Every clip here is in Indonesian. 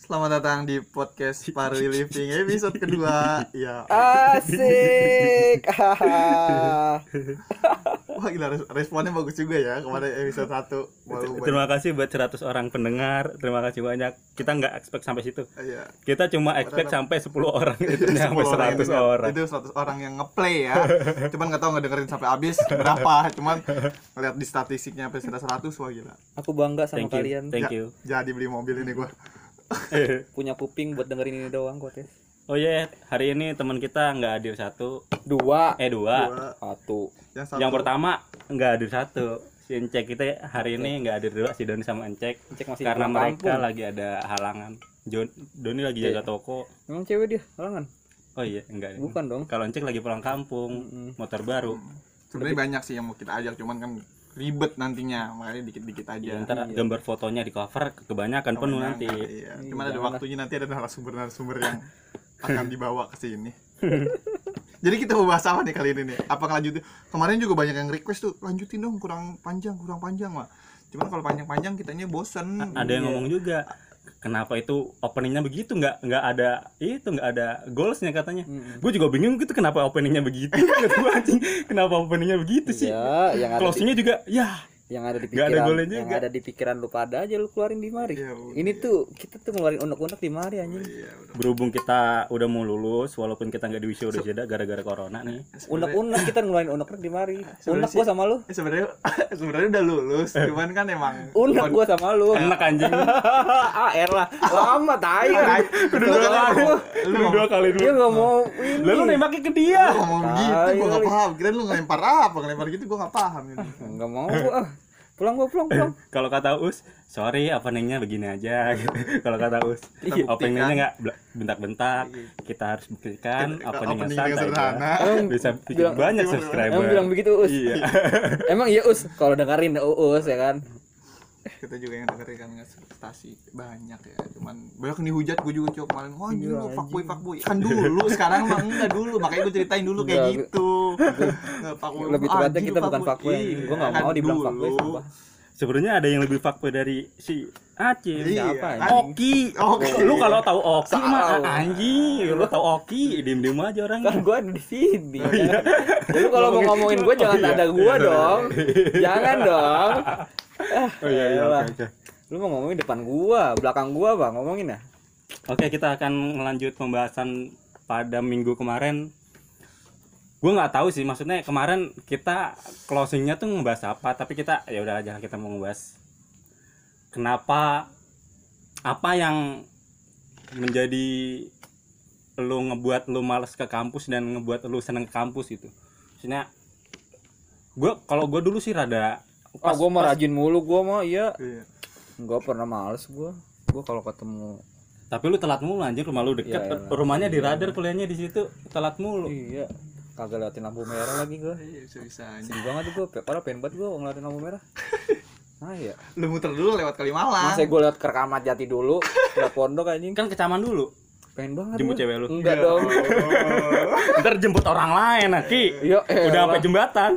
Selamat datang di podcast Parwi Living episode kedua. Ya. Asik. Wah gila, responnya bagus juga ya kemarin episode 1. Terima kasih buat 100 orang pendengar. Terima kasih banyak. Kita nggak expect sampai situ. Iya. Kita cuma expect sampai 10 orang. Itu sampai 100 orang. Itu 100 orang yang ngeplay ya. Cuman nggak tahu ngedengerin sampai habis berapa. Cuman ngeliat di statistiknya sampai 100. Wah gila. Aku bangga sama kalian. Thank you. Jadi beli mobil ini gua. Punya kuping buat dengerin ini doang kok, Tes. Oh iya, hari ini teman kita nggak hadir satu. Dua. Dua. Satu. Yang pertama nggak hadir satu. Si Encek kita hari ini nggak hadir dua, si Doni sama Encek. Masih Karena pulang mereka kampung. lagi ada halangan. Doni lagi jaga toko. Emang cewek dia, halangan? Oh iya, enggak. Bukan dong. Kalau Encek lagi pulang kampung, motor baru. Sebenarnya banyak sih yang mau kita ajak, cuman kan ribet nantinya, makanya dikit-dikit aja. Ya, ntar gambar fotonya di cover kebanyakan penuh nanti. Iya. Cuman ada waktunya, nanti ada narasumber yang akan dibawa ke sini. Jadi kita mau bahas apa nih kali ini nih? Apa lanjutin? Kemarin juga banyak yang request tuh, lanjutin dong, kurang panjang mah. Cuman kalau panjang-panjang kitanya bosen. Ada yang ngomong juga, kenapa itu openingnya begitu, nggak ada goalsnya katanya. Gue juga bingung gitu, kenapa openingnya begitu. Kata gua, anjing, kenapa openingnya begitu sih. Ya, yang ada closingnya juga ya yang ada di nggak ada pikiran, golnya yang juga. ada di pikiran lu pada aja lu keluarin di mari. Iya, Ini tuh kita tuh ngeluarin unek-unek di mari anjing. Iya, udah. Berhubung kita udah mau lulus, walaupun kita nggak di wisuda gara-gara corona nih. Unek-unek kita ngeluarin unek-unek di mari. Unek gua sama lu. Sebenarnya udah lulus, cuman kan emang Unek gua sama lu. Enak anjing. AR lah. Lama tai. Udah dua kali Dia dulu. enggak mau ini. Lalu nembaknya ke dia. lu ngomong gitu, gua nggak paham. Kirain lu ngelempar apa, ngelempar gitu gua nggak paham ini. Enggak mau gua. Pulang. Kalau kata Us, sorry openingnya begini aja gitu. Kalau kata Us, openingnya nggak bentak-bentak. Kita harus buktikan openingnya Opening yang sederhana. Bisa bikin banyak subscriber. Emang bilang begitu Us. Iya. Emang iya Us, kalau dengerin Us ya kan. Kita juga yang dengerin kan ekspektasi banyak ya, cuman banyak nih hujat. Gue juga coba kemarin, oh anjing lu fuckboy kan dulu, sekarang mah enggak dulu, makanya gue ceritain dulu kayak gitu. Lebih tepatnya kita bukan fuckboy. Gue enggak mau dibilang fuckboy sumpah. Sebenarnya ada yang lebih fuckboy dari si Acil. Siapa Iya. anjing? Oki. Lu kalau tahu Oki mah Tahu. anjing, lu tahu Oki, diem-diem aja orangnya. Kan gua ada di sini. Ya. Jadi kalau mau ngomongin gua jangan ada gua dong. Jangan dong. Oh iya, Elah. oke. Lu mau ngomongin depan gua, belakang gua, Bang, ngomongin ya. Oke, kita akan melanjut pembahasan pada minggu kemarin. Gue nggak tahu sih, maksudnya kemarin kita closingnya tuh ngebahas apa, tapi kita ya udah aja, kita mau ngebahas kenapa, apa yang menjadi lu ngebuat lu males ke kampus dan ngebuat lu seneng ke kampus gitu. Maksudnya kalau gue dulu sih rada Gua mah rajin mulu gua mah, iya. Iya. Enggak pernah males gua. Gua kalau ketemu tapi lu telat mulu anjir, rumah lu deket, Iya, rumahnya di Radar, kuliahnya di situ, telat mulu. iya, kagak lewatin lampu merah lagi gua. Iya, bisa-bisanya. Sedih banget gua, parah pengen banget gua ngeliatin lampu merah. Nah ya. Lu muter dulu lewat Kalimalang. Masa gua lewat ke Kramat Jati dulu, lewat pondok anjing. Kan kecaman dulu. Pengen banget Jemput gua. cewek lu. Enggak dong. Ntar jemput orang lain, Ki. Iya, Udah sampai jembatan.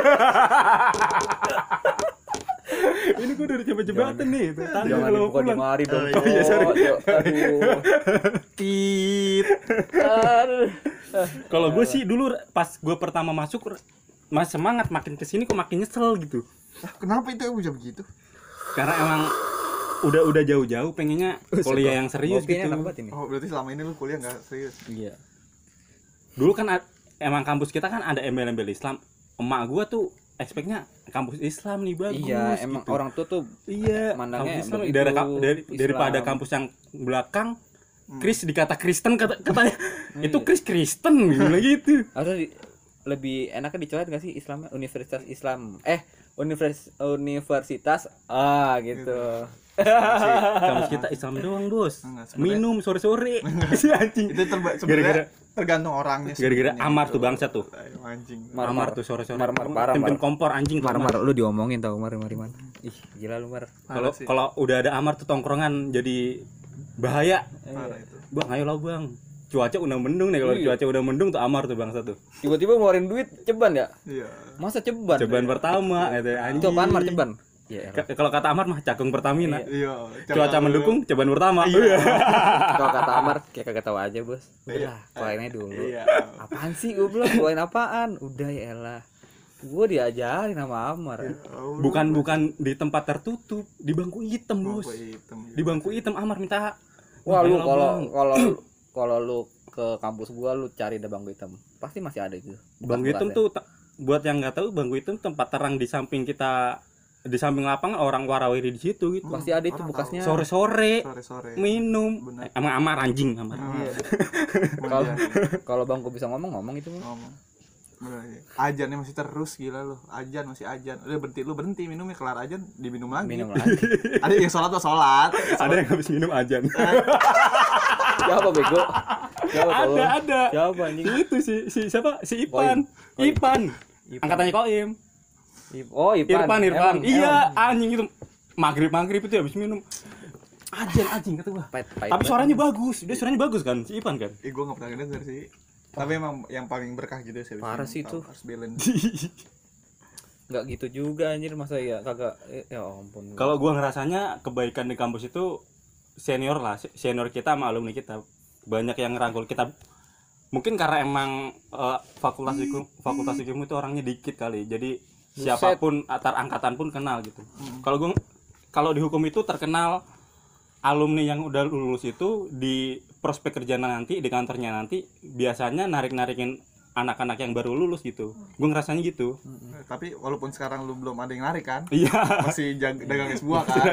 Ini gue udah sampai jembatan nih. Tangga Jangan kalau mau dibuka di pulang. mari dong. Oh, iya, sorry. Aduh. Tit. Aduh. Kalau gue sih dulu pas gue pertama masuk, mas semangat, makin kesini kok makin nyesel gitu. Kenapa itu bisa begitu? Karena emang udah jauh-jauh pengennya kuliah yang serius Kopinya gitu. enak banget ini. Oh, berarti selama ini lu kuliah nggak serius? Iya. Dulu kan emang kampus kita kan ada embel-embel Islam. Emak gue tuh expect-nya kampus Islam nih bagus. Iya, emang gitu. orang tua tuh Iya, mandangnya kampus Islam begitu, daripada Islam. kampus yang belakang Kris dikata Kristen katanya. Itu Kristen gitu. harus lebih enaknya dicoret nggak sih Islamnya Universitas Islam Universitas gitu. Kampus kita Islam doang, Bos. Enggak, sebenarnya- Minum sore-sore. Si anjing. Itu sebenarnya tergantung orangnya. Gara-gara sebenarnya Amar gitu. tuh bangsa tuh. Ayo, anjing. Amar tuh sore-sore. Mar, parah, Tim-tim Mar. kompor anjing tuh Amar. Lu diomongin tau mari man. Ih, gila lu Mar. Kalau Parah sih. kalau udah ada Amar tuh tongkrongan jadi bahaya. Parah itu. Bang, ayolah Bang. Cuaca udah mendung nih, kalau Iya. cuaca udah mendung tuh Amar tuh bangsa tuh. Tiba-tiba ngeluarin duit ceban ya? Iya. Masa ceban? Cobaan pertama gitu anjing. Itu apaan Mar ceban? Iya. Kalau kata Amar mah cakung Pertamina. Iya. Cuaca mendukung, cobaan pertama. Kalau kata Amar kayak kagak tahu aja, Bos. Udah, keluarinnya dulu. Iya. Apaan sih gue bilang keluarin apaan? Udah ya elah. Gue diajarin sama Amar. Bukan di tempat tertutup, di bangku hitam, Bos. Bangku hitam. Di bangku hitam Amar minta. Wah, lu Bang. kalau lu ke kampus gua lu cari ada bangku hitam. Pasti masih ada itu. Bangku hitam tuh buat yang nggak tahu, bangku hitam tempat terang di samping kita, di samping lapangan orang warawiri di situ gitu. Pasti ada itu bekasnya. Sore-sore Sore-sore. minum. Bener. Emang Amar anjing Amar. Kalau bangku bisa ngomong itu mah. Ngomong. Bener, iya. Ajannya masih terus, gila lu. Ajan masih ajan. Udah berhenti minumnya, kelar ajan diminum lagi. Minum lagi. Ada yang sholat tuh sholat. Ada yang habis minum ajan. Siapa bego? Ada. Siapa anjing? Itu si siapa? Si Ipan. Ipan. Angkatannya Koim. Oh, Irfan. Irfan. Iya, anjing itu. Maghrib itu habis minum. Ajan kata gua. Tapi suaranya bagus. Dia suaranya bagus kan, si Ipan kan. Gua enggak pernah denger sih. Tapi emang yang paling berkah gitu sih. Parah sih itu. Harus balance. Enggak gitu juga anjir, masa ya kagak ya ampun. Kalau gua ngerasanya kebaikan di kampus itu senior kita sama alumni kita banyak yang ngerangkul kita. Mungkin karena emang fakultas hukum itu orangnya dikit kali. Jadi siapapun antar angkatan pun kenal gitu. Kalau di hukum itu terkenal alumni yang udah lulus itu di prospek kerja nanti, di kantornya nanti biasanya narik-narikin anak-anak yang baru lulus gitu. Gue ngerasanya gitu. Tapi walaupun sekarang lu belum ada yang narik kan? Iya. Masih dagang es buah kan?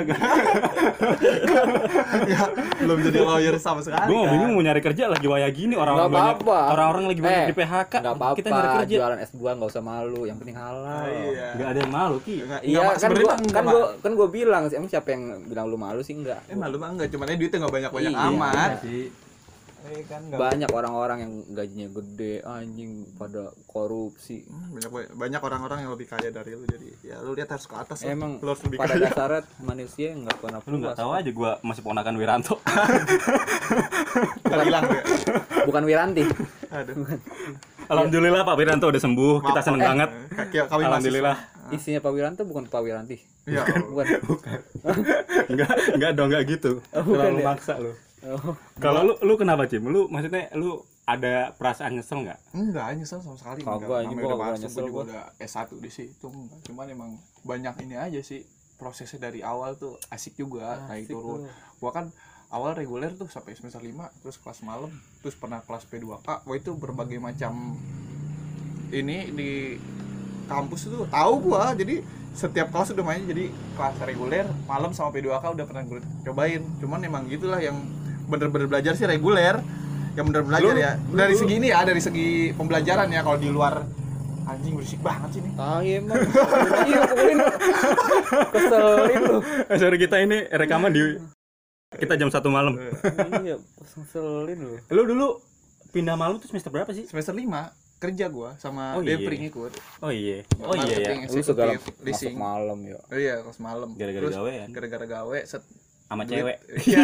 Ya, belum jadi lawyer sama sekali. Gue kan? bingung mau nyari kerja lagi waya gini, orang-orang lagi banyak di PHK. Enggak apa-apa. Kita nyari kerja. Jualan es buah enggak usah malu, yang penting halal. Iya. Enggak ada yang malu, Ki. Iya, kan gua bilang sih, emang siapa yang bilang lu malu sih? Enggak. Malu mah enggak, cuman duitnya enggak banyak-banyak Iya, amat. Sih. Kan Banyak orang-orang yang gajinya gede anjing pada korupsi. banyak orang-orang yang lebih kaya dari lu, jadi ya lu lihat harus ke atas lah. Emang Lu harus lebih pada kaya. dasarnya manusia nggak pernah Lu enggak puas. tahu aja gua masih ponakan Wiranto. Ntar hilang ya. Bukan Wiranti. Aduh. Alhamdulillah Pak Wiranto udah sembuh. Kita seneng banget. Kawin Alhamdulillah. Isinya Pak Wiranto bukan Pak Wiranti. Iya. Bukan. Enggak dong, enggak gitu. Terlalu ya? maksa lu. Oh. Kalau lu kenapa, Cim? Lu maksudnya lu ada perasaan nyesel enggak? Enggak, nyesel sama sekali. Kagak, Namanya ini gua udah kagak masuk, nyesel gua juga gua. udah S1 di situ. Enggak. Cuman emang banyak ini aja sih. Prosesnya dari awal tuh asik juga, naik turun. Gua kan awal reguler tuh sampai semester 5, terus kelas malam, terus pernah kelas P2K. Wah, itu berbagai macam ini di kampus itu tahu gua. Jadi setiap kelas udah main, jadi kelas reguler, malam sama P2K udah pernah gue cobain. Cuman emang gitulah yang bener-bener belajar sih reguler. Yang bener belajar ya. Dari segi ini ya, dari segi pembelajaran ya. Kalau di luar anjing berisik banget sih nih. Emang. Iya, pukulin. Keselin lu. Sorry, kita ini rekaman kita jam 1 malam. Iya, keselin lu. Lu dulu pindah malam tuh semester berapa sih? Semester 5 kerja gua sama Oh, iya. Depring ikut. Oh iya. Oh iya ya. Lu segala masuk leasing. malam ya. Oh iya, kelas malam. Gara-gara Terus, gawean. Gara-gara gawe Sama duit. cewek. Iya.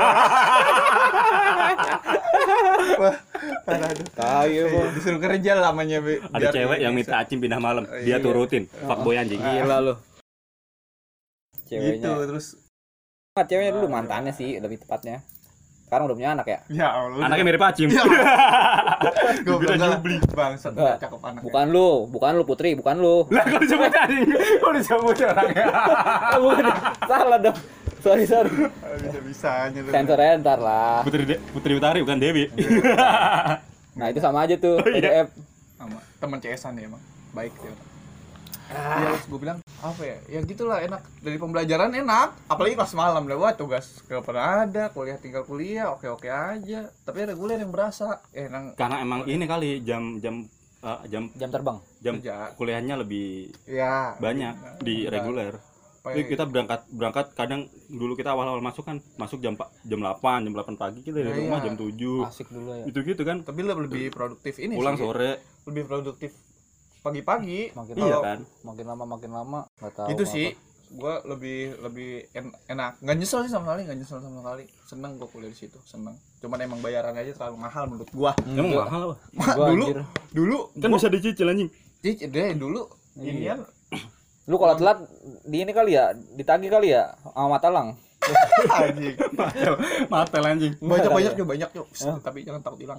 Wah, parah tuh. Disuruh kerja lamanya. Ada cewek yang minta Acim pindah malam, dia Iya. turutin. Fuckboy anjing. Gila lu. Gitu, Ceweknya. terus Ceweknya dulu mantannya sih lebih tepatnya. Sekarang udah punya anak ya? ya Allah. Anaknya mirip Acim. Gue bilang nyubli. bangsat, Enggak. cakep anaknya. Bukan lu Putri, bukan lu. Lah kok disebut anjing? Kok disebut orangnya? Bukan. Salah dong. Sorry. Bisa-bisanya lu. Sensor aja ntar lah. Putri Utari bukan Dewi. Nah, itu sama aja tuh, PDF. Sama teman CS-an ya emang. Baik ya. Iya, gue bilang apa ya? Ya gitulah, enak. Dari pembelajaran enak, apalagi pas malam lah. Wah, tugas gak pernah ada, kuliah tinggal kuliah, oke-oke aja. Tapi reguler yang berasa. Karena emang ini kali jam Jam terbang. jam Kerja. kuliahnya lebih Ya, banyak di reguler. Jadi kita berangkat kadang dulu kita awal-awal masuk jam 8 pagi, kita dari rumah jam 7. Asik dulu ya. Itu gitu kan. tapi lebih produktif ini Pulang sih. sore. Lebih produktif pagi-pagi. Iya kan. Makin lama nggak tahu. Itu sih gua lebih enak. Nggak nyesel sih sama sekali. Seneng gua kuliah di situ, seneng. Cuman emang bayarannya aja terlalu mahal menurut gua. Emang mahal apa? Dulu Kan bisa dicicil anjing. dulu inian Lu kalau telat di ini kali ya, ditagih kali ya sama Matalang. Anjing. Matel anjing. Banyak yuk. Tapi jangan takut hilang.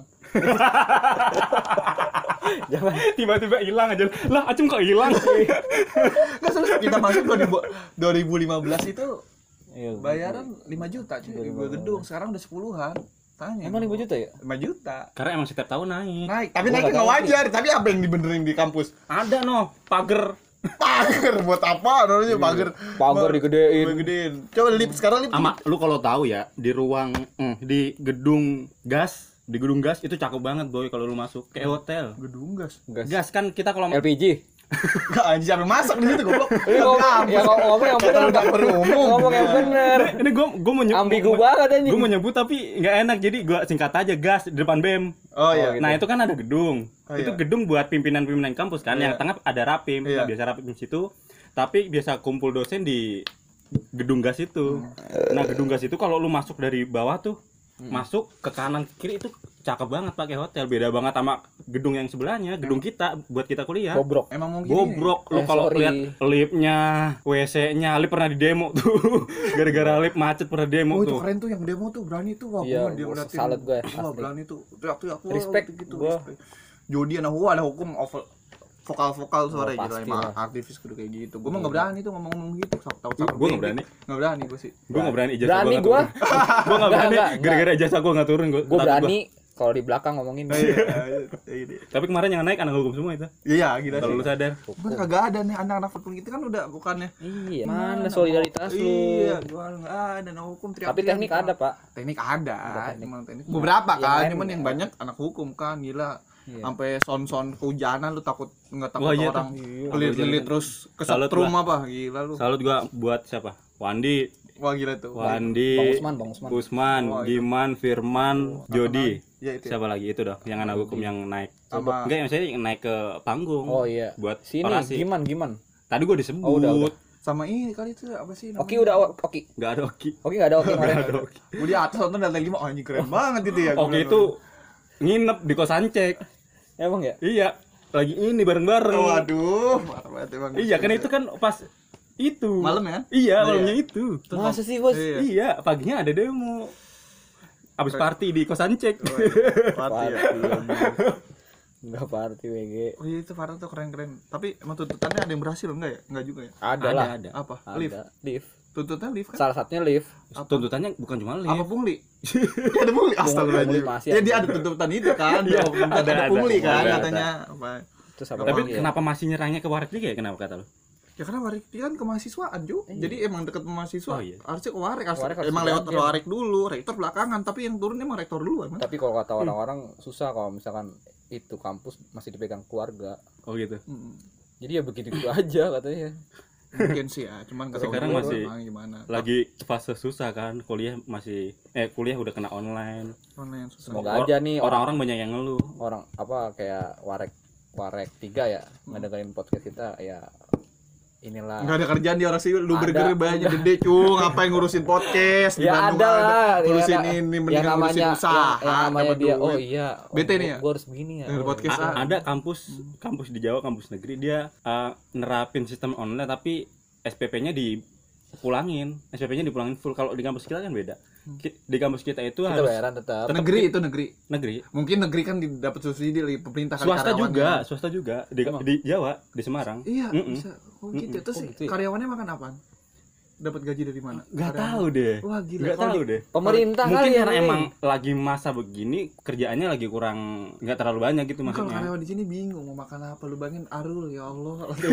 Jangan Tiba-tiba hilang aja. Lah, Acung kok hilang? Enggak serius, kita masuk 2015 itu Iya, bayaran 5 juta cuy. Gue gedung sekarang udah 10-an. Tanya. Emang 5 juta ya? 5 juta. Karena emang setiap tahun naik. Naik, tapi Gua naiknya nggak nggak tahu wajar. Tapi apa yang dibenerin di kampus? Ada noh, pagar. Pagar buat apa namanya pagar? Pagar digedein. Gedein. Coba lift sekarang lift. Ama lu kalau tahu ya, di ruang di gedung gas itu cakep banget boy kalau lu masuk kayak hotel. Gedung gas. Gas kan kita kalau LPG. Enggak anjing siapa yang masak di situ goblok. Ya ngomong yang bener. Dapur umum. Ngomong yang bener. ini gua mau Ambigu banget anjing. Gua mau nyebut tapi nggak enak jadi gua singkat aja gas di depan BEM. Oh iya. Nah, itu kan ada gedung. Oh, itu iya. gedung buat pimpinan-pimpinan kampus kan. Iya. Yang tengah ada rapim. Iya. Nah, biasa rapim di situ. Tapi biasa kumpul dosen di gedung gas itu. Nah, gedung gas itu kalau lu masuk dari bawah tuh masuk ke kanan ke kiri itu cakep banget pakai hotel. Beda banget sama gedung yang sebelahnya, gedung kita buat kita kuliah. Bobrok. Emang mungkin Bobrok lu kalau sorry. lihat liftnya, WC-nya, lift pernah di demo tuh. Gara-gara lift macet pernah demo Oh itu tuh. keren tuh yang demo tuh berani tuh wah Iya, dia ngeliatin. salut gue, Wah asli. berani tuh teriak-teriak wah, Respect, gitu gua. respect. Jody anak gua ada hukum vokal suara gila pasti emang lah. aktivis kudu kayak gitu. Gua mah enggak berani tuh ngomong gitu tahu Gua nggak berani. Enggak berani gua sih. Gua nggak berani ijazah Berani nggak gua. turun. Gua nggak berani Enggak. gara-gara ijazah gua nggak turun gua. Gue takut berani kalau di belakang ngomongin. Tapi kemarin yang naik anak hukum semua itu. Iya gila Kalau lu sih. sadar. Gua kagak ada nih anak-anak fakultas kita kan udah bukannya. Iya. Mana solidaritas lu? Iya, gua enggak ada anak hukum teriak. Tapi teknik ada, Pak. Teknik ada, teknik. emang teknik. Beberapa Yang kan, lain cuman yang enggak. banyak anak hukum kan, gila. Iya. Sampai son-son kehujanan lu takut nggak takut Wah, iya orang tuh. lilit terus Salut kesetrum gua. apa gila lu. Salut gua buat siapa? Wandi, Wah gila tuh. Wandi, Bang Usman. Usman, Oh, iya. Giman, Firman, Jody. Ya itu. Ya. Siapa lagi itu dong yang anak hukum yang naik. Sama- Enggak, yang saya yang naik ke panggung. Oh iya. Buat Sini orasi. Giman. Tadi gua disebut. Oh, udah. Sama ini kali itu apa sih namanya? Oki udah Oki. Enggak ada Oki. Oki enggak ada Oki kemarin. Gua di atas nonton dari 5 anjing keren banget itu ya. gua Oki bilang. itu nginep di kosan cek. Emang ya? Iya, lagi ini bareng-bareng. Waduh, marah banget emang. Iya, kan itu kan pas itu. Malam ya kan? Iya, Iya. malamnya itu. Masa sih, Bos? Iya. Iya, paginya ada demo. Abis party di kosan cek. Party ya. Enggak party WG. Oh iya itu parah tuh keren-keren. Tapi emang tuntutannya ada yang berhasil enggak ya? Enggak juga ya? Ada lah. Ada. Apa? Ada. Lift. Lift. Tuntutan lift kan? Salah satunya lift. Tuntutannya bukan cuma Apa lift. pungli? Ya ada pungli. Astagfirullahaladzim. Pungli masih Ya ada. dia ada tuntutan itu kan. Iya, ada ada. pungli kan Ada. katanya. Apa? Terus apa Tapi lagi ya? kenapa masih nyerangnya ke Warek juga ya? Kenapa kata lu? Ya karena Warik kan kemahasiswaan Jo. Jadi emang deket sama mahasiswa. Oh, iya. Harusnya ke Warik. Warik harus Emang lewat dibagian. Warik dulu, rektor belakangan. Tapi yang turun emang rektor duluan. Kan? Tapi kalau kata orang-orang susah kalau misalkan itu kampus masih dipegang keluarga. Oh gitu. Jadi ya begitu aja katanya. Mungkin sih ya. Cuman nggak tahu Sekarang juga masih- emang gimana. Lagi fase susah kan, kuliah udah kena online. Online susah. Semoga aja nih Orang-orang banyak yang ngeluh. orang apa kayak Warek 3 ya ngedengerin podcast kita ya inilah. Nggak ada kerjaan di orang sih, lu Ada. burger banyak gede cung, ngapain ngurusin podcast di Ya Bandung ada lah, ngurusin ya, ini yang mendingan ngurusin namanya usaha yang namanya dapat dia duit. oh iya Bete nih ya? gua harus begini ya Denger podcast. Ada kampus di Jawa, kampus negeri dia nerapin sistem online tapi SPP-nya dipulangin full. Kalau di kampus kita kan beda. Di kampus kita itu kita harus bayaran tetap negeri itu negeri negeri. mungkin negeri kan dapat subsidi dari pemerintah kali Swasta karyawannya. juga di Jawa, di Semarang. Iya Mm-mm. bisa oh gitu terus Oh, gitu ya? karyawannya makan apaan dapat gaji dari mana Nggak Karyawan. tahu deh. Wah gila Nggak kalau tahu di- deh. pemerintah Mungkin kali ya, karena Ray. emang lagi masa begini kerjaannya lagi kurang, nggak terlalu banyak gitu Kalau maksudnya. karyawan di sini bingung mau makan apa, lu bayangin Arul ya Allah lantai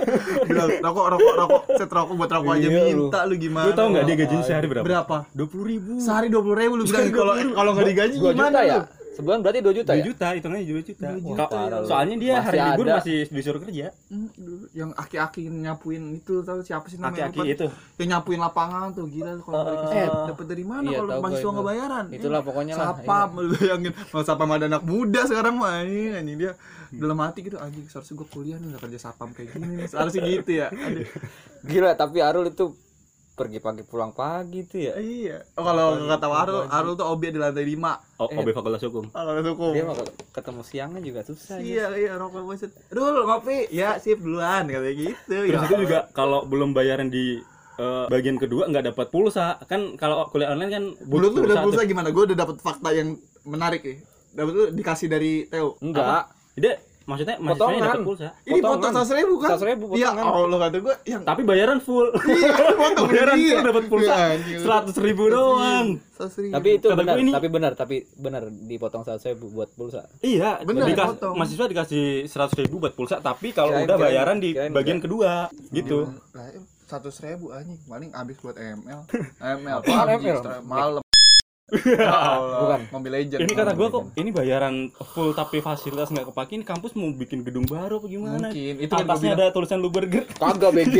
5 bilang rokok set rokok buat rokok aja Iya, minta lu gimana. Lu tahu nggak dia gajinya sehari berapa? Berapa? 20.000. Sehari 20.000 lu bilang kalau nggak digaji 2 gimana juta ya lu? sebulan berarti 2 juta 2 ya juta, hitungannya 2 juta. juta, Kalau- ya. Soalnya dia Masih hari libur ada. masih disuruh kerja. Dulu yang aki-aki nyapuin itu tahu siapa sih namanya? Aki-aki Lupa. itu. Yang nyapuin lapangan tuh gila lu kalau balik ke sini. Dapat dari mana Iya, kalau tahu gua mahasiswa itu. nggak bayaran? Itulah pokoknya lah, Sapam lu bayangin. Mau sapam ada anak muda sekarang mah anjing dia dalam hati gitu anjing seharusnya gua kuliah nih nggak kerja sapam kayak gini nih. Harusnya gitu ya. Aduh. gila tapi Arul itu pergi pagi pulang pagi tuh ya. Iya. Oh, kalau kata Arul tuh OB di lantai 5. OB Fakultas Hukum. Kalau hukum. Dia mau ketemu siangnya juga susah. Iya, rokok buset. Dul, ngopi. Ya, sip duluan katanya gitu. Terus itu juga kalau belum bayaran di bagian kedua nggak dapat pulsa. Kan kalau kuliah online kan Dulu tuh udah pulsa tuh. gimana? Gue udah dapet fakta yang menarik nih. Dapat tuh dikasih dari Theo. Enggak. Jadi maksudnya mahasiswanya dapat pulsa. Ini potong 100.000 kan? 100.000 Iya, potongan. Allah kata gue yang Tapi bayaran full. iya, potong Bayaran dia. full dapat pulsa. Iya, anjing. 100.000 doang. 100.000. Tapi itu Kata benar, gue ini- tapi benar dipotong 100.000 buat pulsa. Iya, Bener, dikasih potong. mahasiswa dikasih 100.000 buat pulsa, tapi kalau Kirain- udah kirain- bayaran di kirain bagian kedua gitu. Lah, 100.000 anjing, paling habis buat ML. ML Apaan PUBG, ML? malam. Ya Allah, Bukan. Mobile Legends. Ini kata gua kok ini bayaran full tapi fasilitas nggak kepake, ini kampus mau bikin gedung baru apa gimana? Mungkin. Itu kan gua Atasnya ada tulisan lu burger. Kagak BG.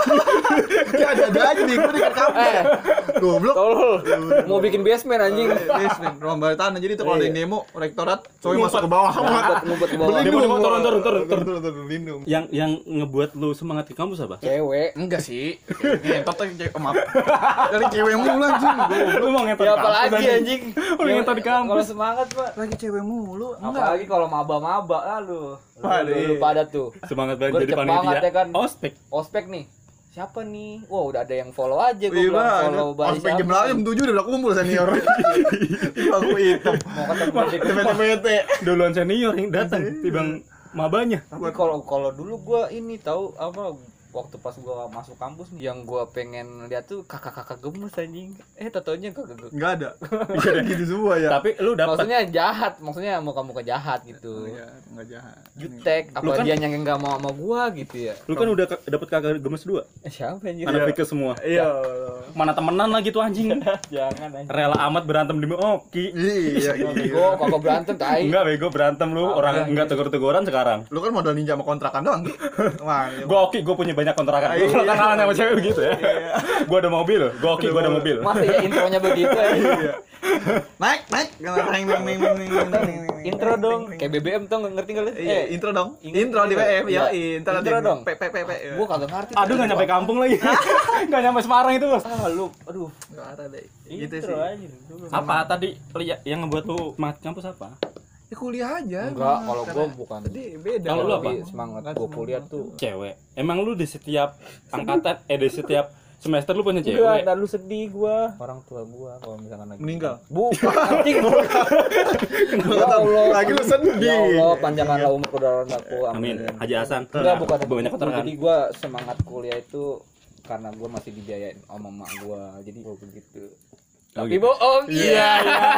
Ya ada aja nih, gue dekat kampus. Goblok. Tolol. Mau bikin basement anjing. Basement, ruang bawah tanah. Jadi tuh kalau ada yang demo, rektorat, coy masuk ke bawah. Ngumpet ke bawah. Demo, turun. Turun, lindung. Yang ngebuat lu semangat ke kampus apa? Cewek. Enggak sih. Ngentot tuh cewek, maaf. Dari cewek mulu anjing. Lu mau ngetot Ya kampus, apalagi anjing. anjing. Oh, yang tadi kampus. Kalau semangat, Pak. Lagi cewek mulu. Apalagi kalau maba-maba aduh. Waduh. Lu pada tuh. Semangat banget jadi Gercep banget panitia. ya kan. Ospek. Ospek nih. Siapa nih? Wah, udah ada yang follow aja gua Iya, bilang Bang. follow Bali Ospek jam 8, jam 7 udah kumpul senior. Aku hitam. Mau ketemu di Bete-bete. Duluan senior yang datang, tibang mabanya. Tapi kalau dulu gua ini tahu apa waktu pas gua masuk kampus nih yang gua pengen lihat tuh kakak-kakak gemes anjing. Tatonya kakak gemes. Enggak ada. Bisa ada gitu semua ya. Tapi lu dapat Maksudnya jahat, maksudnya muka-muka jahat gitu. Iya, enggak jahat. Jutek, apa Lu kan- dia yang enggak mau sama gua gitu ya. lu kan udah dapat kakak gemes 2. Siapa anjing? Anak Fikes semua. Iya. Mana temenan lagi tuh anjing. Jangan anjing. Rela amat berantem di Oki. Iya, Bego, kagak berantem tai. Enggak bego berantem lu, orang enggak tegur-teguran sekarang. Lu kan modal ninja sama kontrakan doang. Wah, iya. Gua Oki, gua punya banyak kontrakan. Iya. Gua kenalan sama cewek begitu ya. Gua ada mobil, gua Oki, gua ada mobil. Masa ya intronya begitu ya? Naik. Intro dong. Kayak BBM tuh ngerti enggak lu? Iya, intro dong. Intro. Intro di WM, Iya. ya, intro dong. P. Gua kagak ngerti. Aduh enggak nyampe kampung lagi. Enggak nyampe Semarang itu, Bos. Lu, aduh. Enggak ada deh. Gitu Intro sih. aja dulu. Apa tadi yang ngebuat lu semangat kampus apa? Ya kuliah aja. Enggak, emang. kalau gua Karena bukan. tadi beda. Kalau lu apa? Semangat gua kuliah tuh. Cewek. Emang lu di setiap angkatan di setiap semester lu punya Enggak, cewek? dan lu sedih gua. Orang tua gua kalau misalkan lagi Meninggal. Bukan anjing. Ya Allah. Lagi lu sedih. Ya Allah, panjangkanlah umur kedaulatan aku. Amin. Haji Hasan. Enggak, bukan banyak kontrakan. Jadi gua semangat kuliah itu karena gua masih dibiayain sama mak gua. Jadi gua begitu. Oh, Tapi gitu. bohong. Iya.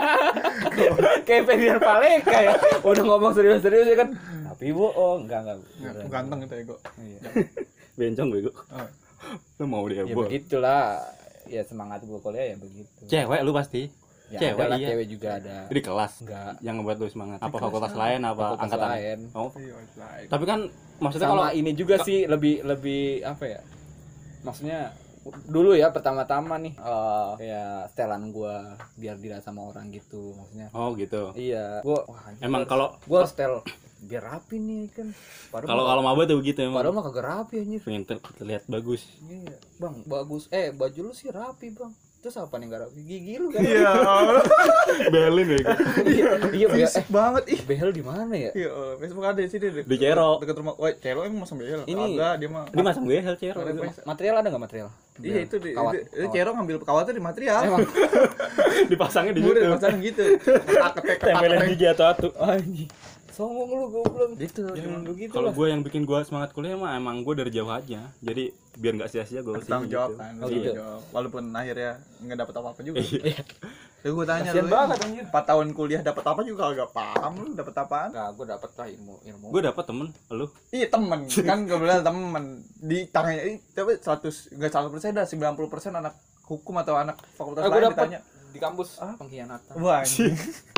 Kayak Ferdian Paleka ya. Udah ngomong serius-serius ya kan. Tapi bohong. Enggak. Ganteng itu ego. Iya. Bencong bego. Oh. Lu mau dia Ya bol. begitulah. Ya semangat gua kuliah ya begitu. Cewek lu pasti. Ya, Cewek, ada lah, iya. cewek juga ada. Di kelas. Enggak. Yang ngebuat lu semangat. Apa kelas fakultas apa? lain apa Fakultas angkatan? lain. Oh. Iya, lain. Tapi kan maksudnya Sama kalau ini juga sih lebih apa ya? Maksudnya dulu ya pertama-tama nih kayak setelan gua biar dilihat sama orang gitu maksudnya. oh gitu. Iya, gua wah, anjing, Emang kalau gua setel biar rapi nih kan. kalau maba tuh begitu emang. padahal mah kagak rapi anjir. Pengen terlihat bagus. Iya, Bang, bagus. Baju lu sih rapi, Bang. Terus apa nih enggak rapi? Gigi lu kan. Iya. Belin ya. Iya, Fisik banget ih. behel di mana ya? Iya, Facebook ada di sini deh. Di Cero. Dekat rumah. Wah, Cero emang masang behel. Ini- Agak dia mah. Dia masang behel cero. Material ada enggak material? Iya, itu di Kawat. itu Cero ngambil kawatnya di material. Emang Dipasangnya di Udah situ. pasang gitu. Ketek-ketek. Tempelin gigi atau anjing. Songong lu goblok. Gitu. Jangan begitu Kalau lah. gue yang bikin gue semangat kuliah mah emang gue dari jauh aja. Jadi biar nggak sia-sia gue sih. Tanggung jawab kan. Oh, Tanggung gitu. jawab. Walaupun akhirnya nggak dapat apa-apa juga. Iya. Ya gue tanya Kasian lu. banget, anjir. 4 tahun kuliah dapat apa juga agak paham lu dapat apaan? Enggak, gua dapet lah ilmu. Gue dapet temen, lu. Iya temen kan gue bilang temen di tangannya tapi 100 enggak 100% dah 90% anak hukum atau anak fakultas Gua lain dapet ditanya. di kampus pengkhianatan Wah, anjing.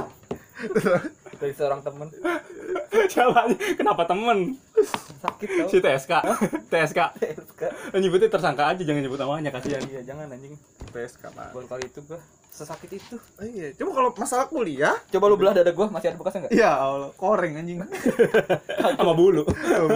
dari seorang temen. Siapa aja? Kenapa temen? Sakit tau. Si TSK. TSK. Nyebutnya tersangka aja, jangan nyebut namanya, kasihan. Iya, jangan anjing. PSK Pak. Buat kali itu gua sesakit itu. Iya, cuma kalau masalah kuliah, Coba lu belah dada gua, masih ada bekasnya enggak? ya Allah, koreng anjing. Sama bulu.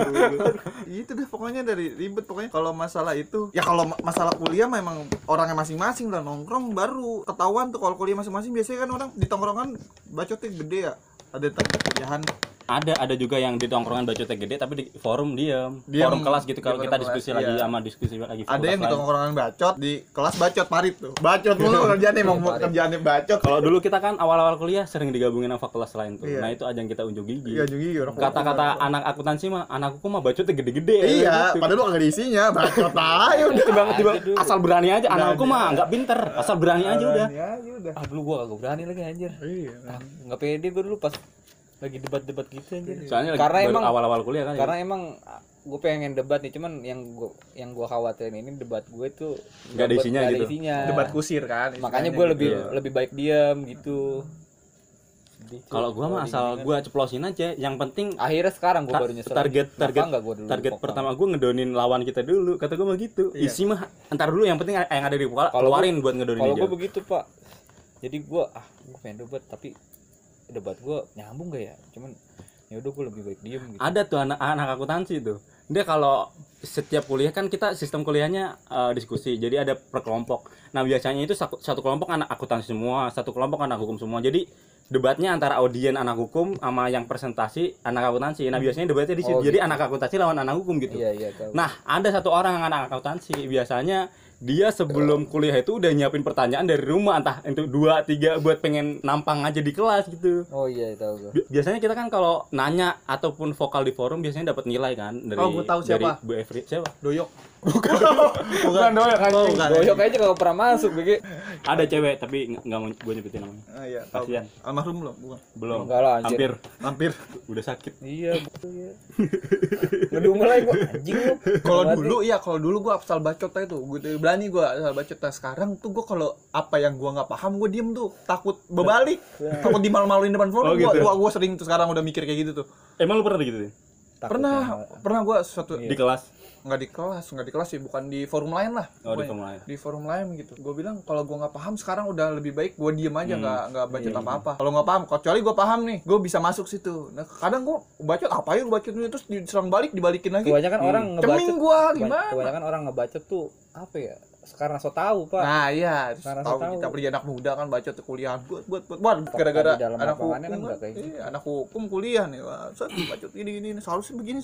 Itu deh pokoknya dari ribet pokoknya kalau masalah itu. Ya kalau masalah kuliah memang orangnya masing-masing lah, nongkrong baru ketahuan tuh kalau kuliah masing-masing. Biasanya kan orang di tongkrongan bacotnya gede ya. Ada tempat kuliahan. Ada juga yang di tongkrongan bacotnya gede tapi di forum diem. Diam. Forum kelas gitu kalau Di kita forum diskusi kelas, lagi iya. sama diskusi lagi. Ada yang di fakultas lain. tongkrongan bacot, di kelas bacot parit tuh. Bacot mulu kerjaannya emang kerjaannya bacot. Kalau dulu kita kan awal-awal kuliah sering digabungin sama fakultas lain tuh. Iya. Nah itu ajang kita unjuk gigi. Iya juga orang. Kata-kata anak akuntansi mah, anak hukum mah bacotnya gede-gede. Iya, gitu. padahal lu kagak ada isinya, bacot aja udah. Tiba-tiba asal berani aja, Berani anak hukum mah nggak pinter, asal berani aja udah. Ya udah. Ah dulu gua kagak berani lagi anjir. Iya. Ah, nggak pede gua dulu pas lagi debat-debat gitu anjir. Soalnya Karena baru emang awal-awal kuliah kan. karena emang gue pengen debat nih, cuman yang gua khawatirin ini debat gue tuh Nggak ada isinya nggak gitu. Debat kusir kan. Makanya istilahnya gue gitu. lebih baik diam gitu. Sedih, cuy. Kalau gua mah asal gua ceplosin aja, yang penting akhirnya sekarang gue baru nyesel. target Nggak gua dulu target vokal? pertama gue ngedonin lawan kita dulu, kata gue mah gitu. Iya. Isi mah entar dulu, yang penting yang ada di kepala Kalau keluarin buat ngedonin Kalau aja. gue begitu pak, jadi gue pengen debat tapi debat gue nyambung gak ya? Cuman ya udah gue lebih baik diem gitu. Ada tuh anak akuntansi tuh, dia kalau setiap kuliah kan kita sistem kuliahnya diskusi, jadi ada per kelompok. Nah biasanya itu satu kelompok anak akuntansi semua, satu kelompok anak hukum semua. Jadi debatnya antara audien anak hukum sama yang presentasi anak akuntansi. Nah biasanya debatnya di situ. Oh, Jadi gitu. anak akuntansi lawan anak hukum gitu. Iya tahu. Nah ada satu orang yang anak akuntansi, biasanya dia sebelum kuliah itu udah nyiapin pertanyaan dari rumah, entah itu 2-3 buat pengen nampang aja di kelas gitu. Oh iya tahu gue. Biasanya kita kan kalau nanya ataupun vokal di forum biasanya dapat nilai kan dari Oh, gua tahu siapa. dari Bu Efri. Siapa? Doyok. Bukan doyok kan. bukan. Doyok aja kalau pernah masuk BG. Ada cewek tapi nggak mau gue nyebutin namanya. Ah iya, tahu. Kasihan. Almarhum belum? Bukan. Belum. Enggak lah, anjir. Hampir Hampir. udah sakit. Iya betul ya. Ngedumel lagi gue anjing lu. Kalau Berarti- dulu iya, kalau dulu gua asal bacot aja tuh. Gue berani gua asal bacot. Nah, sekarang tuh gua kalau apa yang gua nggak paham gua diem tuh, takut berbalik. Takut dimalu-maluin depan forum. Oh, gitu. Gua sering tuh sekarang udah mikir kayak gitu tuh. Emang lu pernah digituin? Takutnya- Pernah gua suatu Di kelas? nggak di kelas sih, bukan di forum lain lah. Oh, di Pokoknya. forum lain. Di forum lain gitu. Gue bilang kalau gue nggak paham sekarang udah lebih baik gue diem aja, nggak bacot apa-apa. Kalau nggak paham, kecuali gue paham nih, gue bisa masuk situ. Nah kadang gue bacot apa ya, bacot terus diserang balik, dibalikin lagi. Kebanyakan orang ngebacot. Ceming gue gimana? Kebanyakan orang ngebacot tuh apa ya? Sekarang so tahu pak. Nah iya, Sekarang tahu tahu. kita beli anak muda kan bacot ke kuliah buat gara-gara Di dalam anak lapangannya hukum kan nggak kayak gitu. anak hukum kuliah nih, wah, bacot gini seharusnya begini.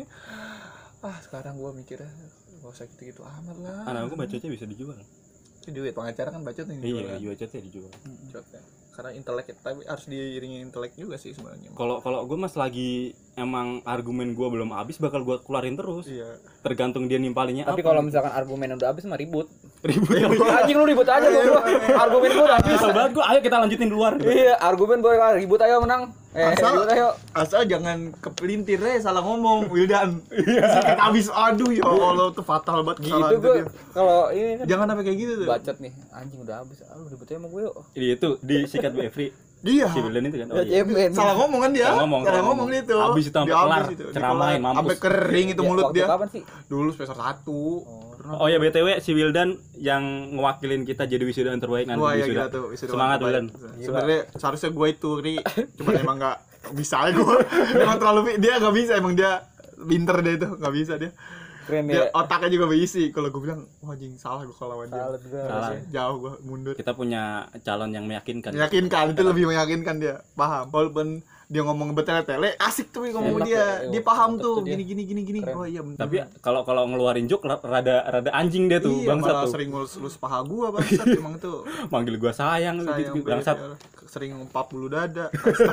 Sekarang gue mikirnya gak usah gitu-gitu amat lah. Anak aku bacotnya bisa dijual. Duit pengacara kan bacot nih. Iya, bacotnya dijual. Bacot ya. Karena intelek, tapi harus diiringi intelek juga sih sebenarnya. Kalau gue mas lagi emang argumen gue belum habis bakal gue keluarin terus. Iya. Tergantung dia nimpalinnya Tapi apa. kalau misalkan argumen udah habis mah ribut. ribut. Anjing lu ribut aja gua. Argumen gua udah habis. Kesel banget gue, ayo kita lanjutin di luar. Iya, argumen gua ribut ayo menang. Ribut ayo. Asal jangan kepelintir salah ngomong Wildan. Sikit habis, aduh ya Allah tuh fatal banget Gitu kesalahan gua dia. kalau ini kan Jangan sampai kayak gitu tuh. bacot nih. Anjing udah habis. Lu ribut aja sama gua yuk. Itu disikat Bu Efri. Dia Si Wildan itu kan. Ya cemen. salah ngomong kan dia. Salah ngomong, Salah salah ngomong ngomong. itu. Habis itu sampai Dia kelar. habis itu. Ceramain, Dikelar. mampus. Sampai kering itu mulut Waktu dia. kapan sih? Dulu semester 1. Oh ya BTW si Wildan yang ngewakilin kita jadi wisuda terbaik nanti Wah ya wisuda. gila tuh. wisuda Semangat terbaik. Wildan. Sebenarnya seharusnya gue itu Ri. Cuma emang enggak bisa aja gue. Emang terlalu dia enggak bisa, emang dia pinter dia itu, enggak bisa dia. Keren Dia ya. otaknya juga berisi. Kalau gue bilang, wah anjing salah gue kalau lawan dia. Salah juga. Salah. Jauh gue mundur. Kita punya calon yang meyakinkan. Meyakinkan, itu lebih meyakinkan dia. Paham. Walaupun dia ngomong bertele-tele, asik tuh ngomong Enak dia. ya, Dia paham mantep tuh tuh dia. gini. Keren. Oh iya bener. Tapi kalau ngeluarin joke rada anjing dia tuh, iya, bangsat malah tuh. sering ngelus paha gua bangsat emang tuh. Manggil gua sayang, Sayang gitu, bangsat. sering ngempap bulu dada.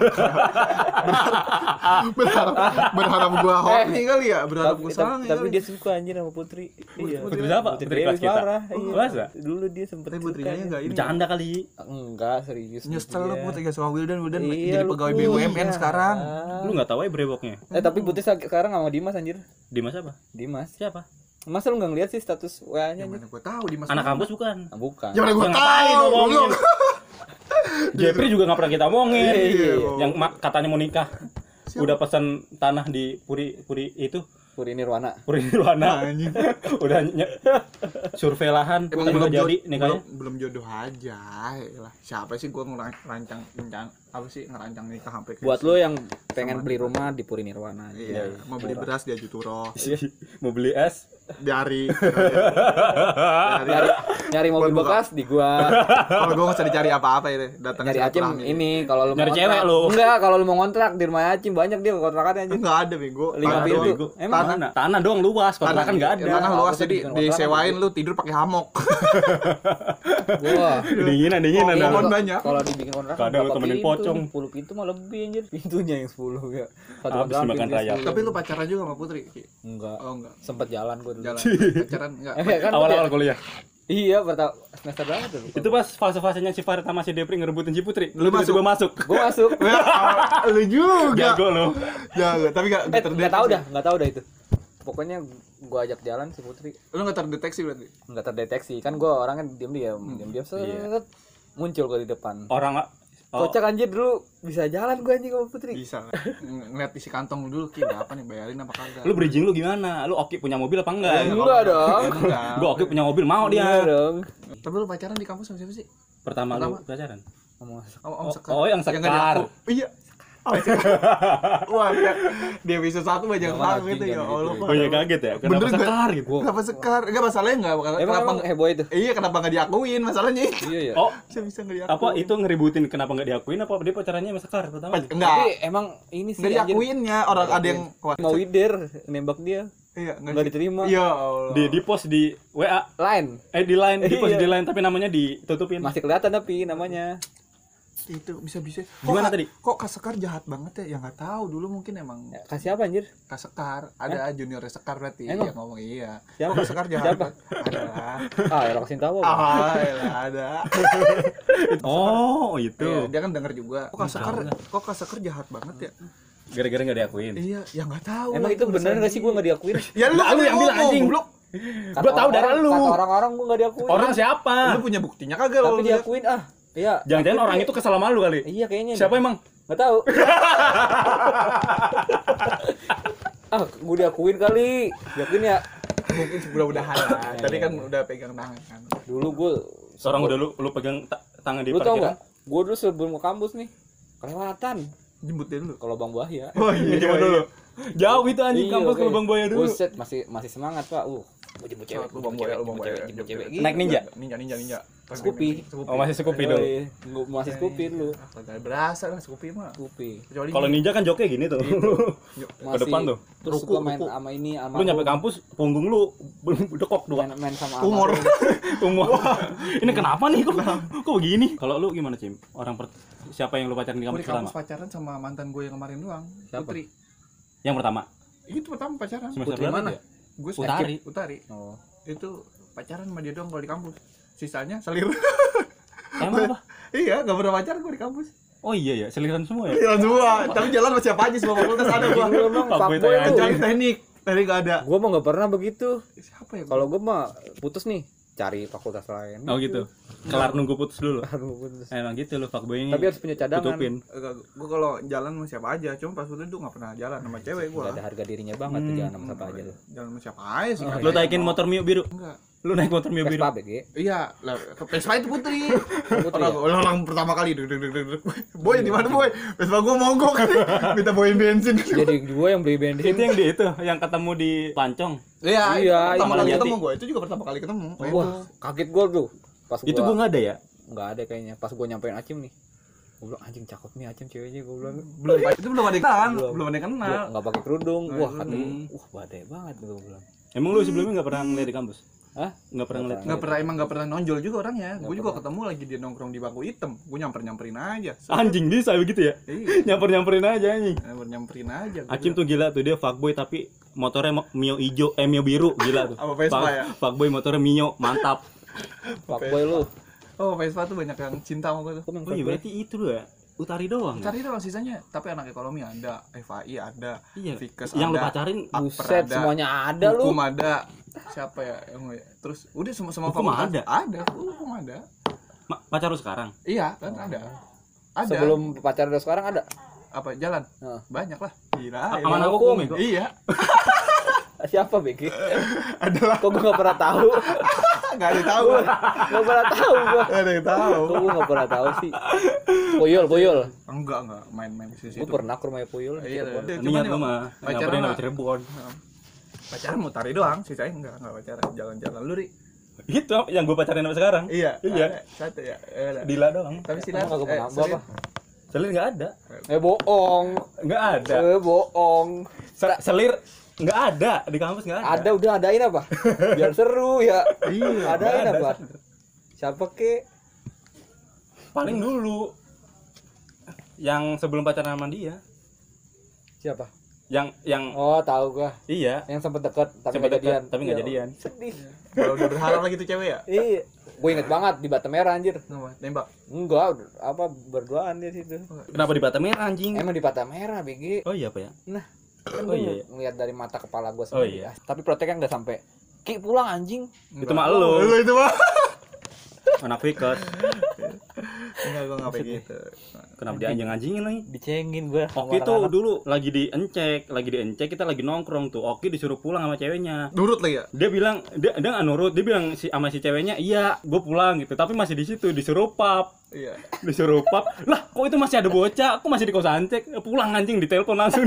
berharap gua horny kali ya, berharap gua sange Tapi kali. dia suka anjir sama Putri. Iya. Putri siapa? Putri Putri kelas Dewi kita. parah. Iya. Masa? Dulu dia sempet Tapi suka. putrinya enggak ini. Bercanda kali. Enggak, serius. Nyesel lu dia. Putri gak sama Wildan Iya, jadi lu pegawai kuliah. BUMN sekarang. Lu enggak tahu ya brewoknya. Tapi Putri sekarang sama Dimas anjir. Dimas apa? Dimas. Siapa? Masa lu enggak ngeliat sih status WA-nya anjir? Mana gua tahu di Mas. Anak kampus bukan. Ah, bukan. Ya mana gua Ya, ngapain tahu. ngomongin? Belum. Jepri juga nggak pernah kita omongin. Iya, Yang katanya mau nikah. Siapa? Udah pesan tanah di Puri itu Puri Nirwana. Puri Nirwana. Anjing. Udah survei lahan Emang udah jadi belum, nikahnya. belum jodoh aja. Yalah. Siapa sih gua ngerancang apa sih ngerancang nikah sampai Buat lo yang pengen beli rumah di Puri Nirwana. Iya, mau beli beras di Ajuturo. Mau beli es Dari Nyari mobil Buat buka. bekas di gua. kalau gua nggak usah dicari apa-apa ya, datang Nyari Acim ini kalau lu mau Nyari ngontrak. cewek lu. Enggak, kalau lu mau ngontrak di rumah Acim banyak dia kontrakannya anjing. Enggak ada bego. 5 Tanah pintu. doang. Emang Tanah. Tanah doang luas, kontrakan enggak ada. Tanah luas Apa sih jadi bikin kontrakan disewain gitu? lu tidur pakai hamok. Wah. Dinginan Oh, dah. pohon banyak. Kalau dibikin kontrakan Kadang lu berapa temenin pintu? pocong. 10 pintu mah lebih anjir. Pintunya yang 10 ya. Satu Habis kontrakan dimakan pintunya rayap. 10. Tapi lu pacaran juga sama Putri? Ki? Enggak. Oh enggak. Sempet jalan gua dulu. Jalan pacaran enggak. Kan Awal-awal dia- kuliah. Iya, pertama semester berapa tuh? Itu pas fase-fasenya si Farid sama si Depri ngerebutin si Putri. Lu tiba-tiba masuk. Gua masuk. Lu juga. Jago lo. Jago, tapi enggak Enggak tahu dah itu. Pokoknya gua ajak jalan si Putri, Lu enggak terdeteksi berarti. enggak terdeteksi. Kan gua orangnya diam-diam, diam-diam set muncul gua di depan. Orang Kocak anjir dulu bisa jalan gua anjing sama Putri. Bisa. Ngeliat isi kantong dulu, Ki, berapa nih bayarin apa kagak? lu bridging lu gimana? Lu Oki punya mobil apa enggak? Enggak dong. Enggak. Gua Oki punya mobil mau Enggak dia. dong. Tapi lu pacaran di kampus sama siapa sih? Pertama lu pacaran. Ngomong Om Sekar. Oh, yang nggak Sekar. diaku. Iya. Wah, di episode 1 banyak banget gitu ya Allah. Banyak kaget ya. Kenapa Bener nggak? Sekar gitu? Kenapa Sekar? Enggak masalahnya enggak Emang kenapa heboh itu? Iya, kenapa enggak diakuin masalahnya itu. Iya ya. Oh, Bisa enggak diakuin. apa itu ngeributin kenapa enggak diakuin apa dia pacarannya sama Sekar pertama? Enggak. Tapi emang ini sih Enggak anjir. diakuinnya orang ada yang Mau wider nembak dia. Iya, Enggak diterima. Iya Allah. Di post di WA Line. di line di post Iya. di line tapi namanya ditutupin. Masih kelihatan tapi namanya. Itu bisa-bisa. Gimana tadi? Kok Kak Sekar jahat banget ya? Ya enggak tahu dulu mungkin emang Ya, kasih apa anjir? Kak Sekar, ada junior Sekar berarti. Emang? Iya ngomong iya. Siapa? Kok Kak Sekar jahat? Siapa? Ada lah. Ah, ya lo kasih tahu. apa? Elah, ada. Oh, itu. Iya, dia kan denger juga. Kok Kak Sekar jahat banget ya? Gara-gara enggak diakuin. Iya, ya enggak tahu. Emang lah, itu bener urusan gak sih dia. gua enggak diakuin? Ya lu Lu yang bilang, anjing. goblok. Gua tahu dari lu. Kata orang-orang gua enggak diakuin. Orang siapa? Lu punya buktinya kagak tapi lu? diakuin ah. Iya. Jangan-jangan orang itu kesel sama lu kali. Iya kayaknya. Siapa emang? Enggak tahu. Ah, gua diakuin kali. Diakuin ya. Mungkin mudah-mudahan lah. Tadi kan udah pegang tangan kan. Dulu gua Seorang udah lu pegang tangan di lu tau parkiran. gak? Gua dulu sebelum ke kampus nih kelewatan Jemput dia dulu. ke lubang buaya. Oh Coba dulu. Jauh itu anjing Iya, kampus ke oke. Lubang Buaya dulu. Buset, masih semangat, Pak. Gua jemput cewek, Lubang Buaya, Lubang Buaya. jemput cewek. Naik ninja. Ninja. Scoopy. Oh, masih Scoopy dulu. Gua masih Scoopy dulu. Kagak berasa lah Scoopy mah. Scoopy. Kecuali Kalau ninja kan joknya gini tuh. Ke depan tuh. Terus Ruku, suka main ruku. sama ini sama Lu nyampe kampus punggung lu dekok dua. main sama umur. Umur. Ini kenapa nih kok begini? Kalau lu gimana, Cim? Siapa yang lu pacaran di Gue kampus di kampus pertama? pacaran sama mantan gue yang kemarin doang. Siapa? Putri. Yang pertama. Itu pertama pacaran. Semester Putri berapa mana? dia? Gue Utari. Utari. Oh. Itu pacaran sama dia doang kalau di kampus. Sisanya selir. Emang apa? Iya, gak pernah pacaran gue di kampus. Oh iya ya, seliran semua ya. Jalan semua, tapi jalan sama siapa aja semua fakultas ada gua. Lu emang Fuckboy fuckboy tayang lu. Kecuali teknik gak ada. Gua mah enggak pernah begitu. Siapa ya? Kalau gua mah putus nih, cari fakultas lain. Oh gitu. Kelar nunggu putus dulu. Baru putus. Emang gitu lu fuckboy ini. Tapi harus punya cadangan. tutupin. Gue kalau jalan sama siapa aja, cuma pas itu tuh gak pernah jalan sama cewek gua. Enggak ada harga dirinya banget tuh jangan sama siapa aja lu. Jalan sama siapa aja sih. Lu taikin motor Mio biru. Enggak. Lu naik motor Mio biru. Vespa BG. Iya, lah Vespa itu Putri. Putri ya? Orang pertama kali boy di mana boy? Vespa gua mogok. Minta boyin bensin. Jadi gua yang beli bensin. Itu yang ketemu di Pancong. Iya, Iya, pertama iya. kali ketemu gua. Itu juga pertama kali ketemu. Wah, kaget gua tuh. Pas Itu gua enggak ada ya. enggak ada kayaknya. Pas gua nyampein Acim nih. Gua bilang anjing cakep nih Acim ceweknya gua bilang. Itu belum ada kenalan, Belum. belum ada yang kenal. Gua enggak pakai kerudung. Wah, Hmm. katanya, badai banget gua bilang. Emang lu sebelumnya enggak pernah ngeliat di kampus? Hah? Enggak pernah ngeliat. Nggak pernah nonjol juga orangnya. Gue juga pernah. ketemu lagi dia nongkrong di bangku hitam. Gue nyamperin aja. Anjing bisa begitu ya? Iya, Nyamperin aja anjing. nyamperin aja. Gua Acim tuh gila tuh, dia fuckboy tapi motornya Mio hijau, Mio biru, gila tuh. Apa Vespa ya? Fuckboy motornya Mio, mantap. Fuckboy lu. Oh, Vespa tuh banyak yang cinta sama gue tuh. Gua main Oh iya fuckboy. berarti itu loh ya. Utari doang. Ya? Cari doang sisanya. Tapi anak ekonomi ada, FAI ada, Iya. Fikes Yang lu ada, pacarin Buset, ada, semuanya ada lu. Hukum ada. Siapa ya? Terus udah semua Hukum fakultas. ada? Ada, hukum ada. Pacar lu sekarang? Iya, kan ada. Ada. Sebelum pacaran udah sekarang ada. Apa jalan? Heeh. Banyak lah. Gila. Amanah hukum itu? Iya. Siapa BG? Adalah Kok gue nggak pernah tahu? nggak ada yang tahu. Nggak pernah tahu gue. Nggak ada yang tahu. Kok gue nggak pernah tahu sih? Poyol. Enggak main di situ. Gue pernah ke rumah Poyol. Iya, Niat lu mah pacaran pacaran mah. sama Cirebon. Pacaran mau tari doang, sisanya enggak pacaran, jalan-jalan lu Ri. Itu yang gue pacarin sampai sekarang. Iya. Iya. Satu ya. Ada. Dila doang. Tapi sih Emang kagak pernah apa? Selir nggak ada. Bohong. Nggak ada. Bohong. Selir nggak ada di kampus, nggak ada. Ada udah adain apa? Biar seru ya. Iya. Adain Nggak ada. apa? Siapa ke? Paling dulu yang sebelum pacaran sama dia, Siapa? yang Oh tahu gua. iya Yang sempat dekat tapi Sempet nggak deket, jadian. tapi nggak Iya. jadian. Sedih. Kalau udah berharap lagi tuh cewek ya. Iya. Gue inget banget di Bata Merah anjir. Nembak. Enggak, apa berduaan dia situ. Kenapa di Bata Merah anjing? Emang di Bata Merah BG. Oh iya apa ya? Nah, kan Oh, gua iya. ngeliat dari mata kepala gue Oh, sendiri. iya. Tapi proteknya nggak sampai. Ki pulang anjing. Itu mah lu. Lu itu mah. Anak Fikos. Enggak, gua enggak kayak gitu. Kenapa dia anjing-anjingin lagi? Dicengin gue. Oki tuh dulu lagi diencek kita lagi nongkrong tuh. Oki disuruh pulang sama ceweknya. Nurut lagi ya? Dia bilang dia nggak nurut, dia bilang sama si ceweknya, "Iya, gue pulang" gitu. Tapi masih di situ disuruh pap. Iya. Disuruh pap. Lah, kok itu masih ada bocah? Aku masih di kosan cek. Pulang anjing, ditelepon langsung.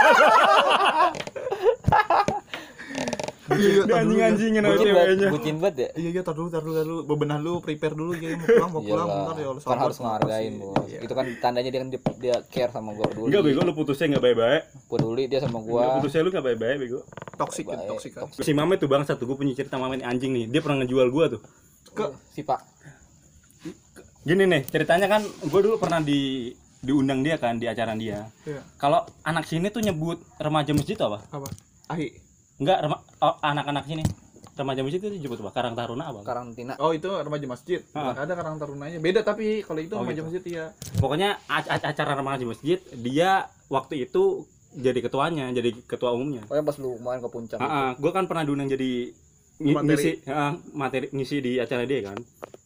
Iya, Dia anjing-anjingin sama ceweknya. Bucin banget ya. Iya, tar dulu. Bebenah lu, prepare dulu ya, mau pulang Iyalah, bentar ya Allah. kan harus ngehargain bos. Iya. Itu kan tandanya dia kan dia care sama gue, peduli. Enggak bego, lu putusnya enggak baik-baik. Peduli dia sama Enggak gue. putusnya lu enggak baik-baik bego. Toksik kan, Baik, toksik kan. Si Mame tuh bangsa tuh, gue punya cerita Mame ini anjing nih. Dia pernah ngejual gua tuh. Ke Si Pak. Gini nih, ceritanya kan gue dulu pernah diundang dia kan di acara dia. iya. Kalau anak sini tuh nyebut remaja masjid tuh apa? Apa? Ahi. Enggak, anak-anak sini. Remaja masjid itu disebut apa? Karang Taruna apa? Karantina. Oh, itu remaja masjid. Ah. Ada Karang Tarunanya. Beda tapi kalau itu Oh, remaja gitu. masjid iya. Pokoknya acara remaja masjid, dia waktu itu jadi ketuanya, jadi ketua umumnya. Pokoknya pas lu kemarin ke puncak. Gue kan pernah diundang jadi ngisi di acara dia kan.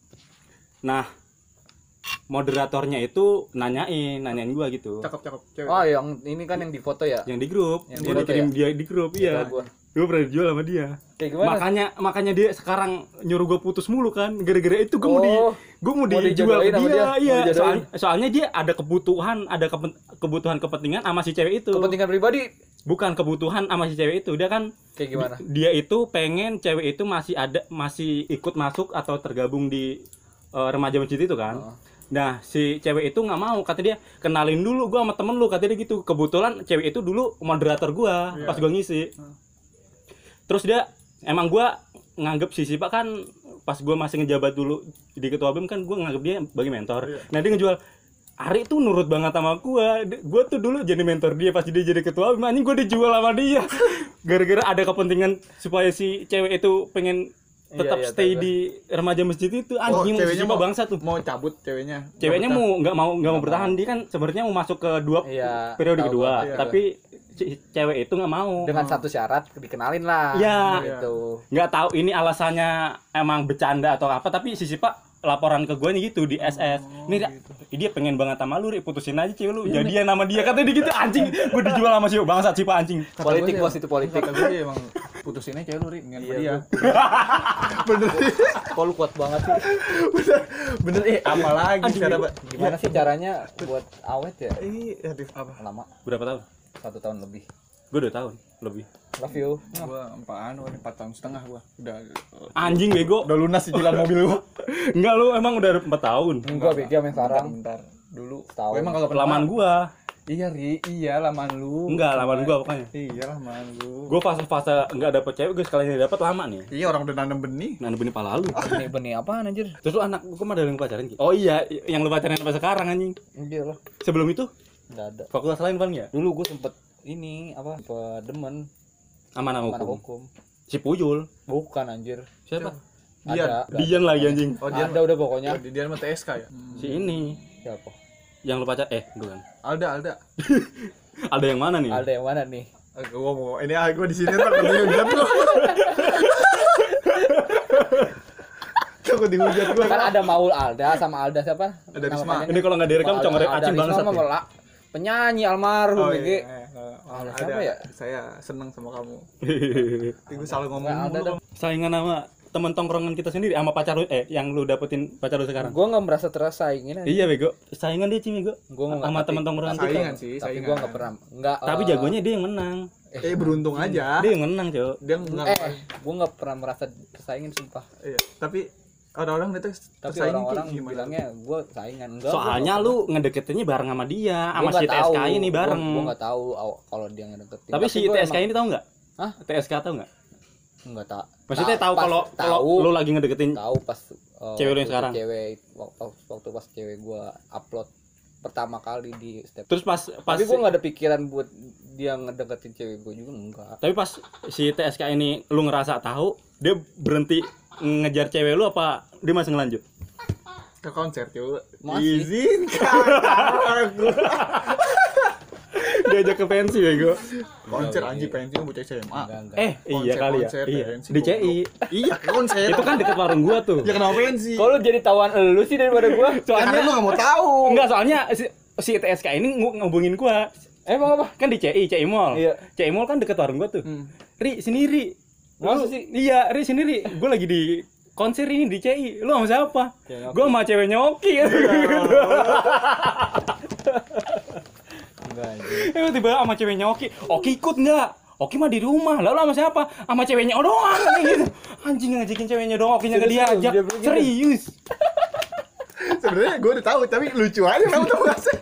Nah, moderatornya itu nanyain gue gitu. Cakep cewek. Oh, yang ini kan yang di foto ya. Yang di grup, Yang dia di dikirim foto dia di grup, iya. Tahu gua. Gue pernah dijual sama dia. Kayak gimana? Makanya dia sekarang nyuruh gue putus mulu kan. Gara-gara itu gue mau mau dijual dijodohin ke sama dia. dia? Iya, Mau dijodohin? soalnya dia ada kebutuhan kepentingan sama si cewek itu. Kepentingan pribadi. Bukan kebutuhan sama si cewek itu. Dia kan Kayak gimana? dia itu pengen cewek itu masih ikut masuk atau tergabung di remaja masjid itu kan. Nah, si cewek itu nggak mau, kata dia, kenalin dulu gua sama temen lu, kata dia gitu. Kebetulan cewek itu dulu moderator gua pas gua ngisi. Terus dia emang gua nganggep si Sipa kan pas gua masih ngejabat dulu di ketua BEM kan gua nganggep dia sebagai mentor. Nah, dia ngejual Ari tuh nurut banget sama gua tuh dulu jadi mentor dia pas dia jadi ketua BEM, anjing gua dijual sama dia. Gara-gara ada kepentingan supaya si cewek itu pengen tetap Iya, stay tahu di remaja masjid itu, anjing ceweknya Sipa mau bangsa tuh. Mau cabut ceweknya. Ceweknya nggak mau bertahan, dia kan sebenarnya mau masuk ke Iya, periode tahu kedua, gua. Iya. tapi si cewek itu nggak mau. Dengan satu syarat dikenalin lah. Iya. Gitu. Nggak tahu ini alasannya emang bercanda atau apa, tapi si Sipa laporan ke gue nih gitu di SS. Nih dia pengen banget sama lu, putusin aja cewek lu, jadian sama dia, katanya dia gitu, anjing. Gue dijual sama si bangsat Sipa anjing. Politik bos, itu politik. Kata gue emang putusinnya cewek lu Ri, dengan Iya, dia. Bener. Kok lu kuat banget sih? Bener apa lagi cara Gimana sih caranya buat awet ya? aduh apa? Lama, Berapa tahun? 1 tahun lebih. Gue 2 tahun lebih. Love you. Gua 4 tahun setengah gua. Udah Anjing bego. udah lunas cicilan mobil gua. Enggak, lu emang udah 4 tahun. Enggak beda sama yang sekarang. Bentar. Dulu Setahun. gua emang kagak pernah. Lamaan gua. Iya Ri, iya lamaan lu. Enggak, lamaan gua pokoknya. Iya lamaan lu. Gue fase-fase nggak dapet cewek, gue sekalian dapet lama nih. Iya orang udah nanam benih. Nah, benih pala lu. Benih apaan anjir? Terus lu anak gue mah ada yang pacaran gitu. Oh iya, yang lu pacaran sampai sekarang anjing. Iya lah. Sebelum itu Enggak ada. fakultas lain paling ya? Dulu gue sempet ini apa? Demen Sama anak mana hukum. hukum. Si Puyul. Bukan anjir. Siapa? Ada. Dian lagi anjing. Oh dia Ada udah pokoknya. dia sama TSK ya. Si ini Siapa? yang lu pacar bukan. Alda. Ada yang mana nih? Ada yang mana nih? Gua mau ini gua di sini ntar dihujat gua. Takut dihujat gua. Kan ada Maul Alda sama Alda siapa? Ada Nama Risma. panjangnya? Ini kalau nggak direkam Alda- congorek Alda acing Risma bangsat. mah Ya. penyanyi almarhum Oh, BG. iya. Ada siapa ya? Saya seneng sama kamu. Gue selalu ngomong Nggak ada mulu. dah. Saingan sama temen tongkrongan kita sendiri sama pacar lu yang lu dapetin pacar lu sekarang. Gue nggak merasa tersaingin aja. Iya bego, saingan dia Cimi bego. Gua nggak, Sama tapi- temen tongkrongan kita. Saingan sih, Tapi saingan. gue nggak pernah. Nggak. Tapi jagonya dia yang menang. Beruntung aja. Dia yang menang, Cok. Dia nggak. gue nggak pernah merasa tersaingin sumpah. Iya. Tapi orang-orang itu Tapi tersaingin orang-orang kayak gimana? bilangnya gue saingan. Enggak. Soalnya lu ngedeketinnya bareng sama dia, sama Gua si nggak tahu. TSK ini bareng. Gue nggak tahu kalau dia ngedeketin. Tapi si gua TSK ini tahu nggak? Hah? TSK tahu nggak? Nggak tahu. Maksudnya tahu kalau tahu. lu lagi ngedeketin Tahu pas Cewek lu yang waktu sekarang? waktu pas cewek gue upload pertama kali di step. terus pas Tapi gue nggak ada pikiran buat dia ngedeketin cewek gue juga enggak. tapi pas si TSK ini lu ngerasa tahu, dia berhenti ngejar cewek lu apa dia masih ngelanjut? Ke konser coba. Masih. Izinkan aku. Diajak ke pensi bego. Konser anjing pensi bocah SMA. Enggak. Iya kali ya. Konser, Iya. pensi, Di CI. Iya, konser. Itu kan deket warung gua tuh. Ya kenapa pensi? Kalau jadi tawan elu sih daripada gue. Karena lu Soalnya gak mau tahu. enggak, soalnya si TSK ini ngubungin gua. Emang apa? Kan di CI Mall. Iya. CI Mall kan deket warung gua tuh. Ri, sini Ri. Masa Lu- sih? Iya, Ri sini Ri. Gua lagi di konser ini di CI. Lu sama siapa? Cewek Oki. Gua sama ceweknya Oki. Enggak. Tiba-tiba sama ceweknya Oki. Oki ikut enggak? Oki mah di rumah. Lalu sama siapa? Sama ceweknya doang kayak gitu. Anjing ngajakin ceweknya doang, Okinya enggak Serius, diajak. dia bilang gitu? Serius. Sebenarnya gue udah tahu tapi lucu aja kamu tahu gak sih?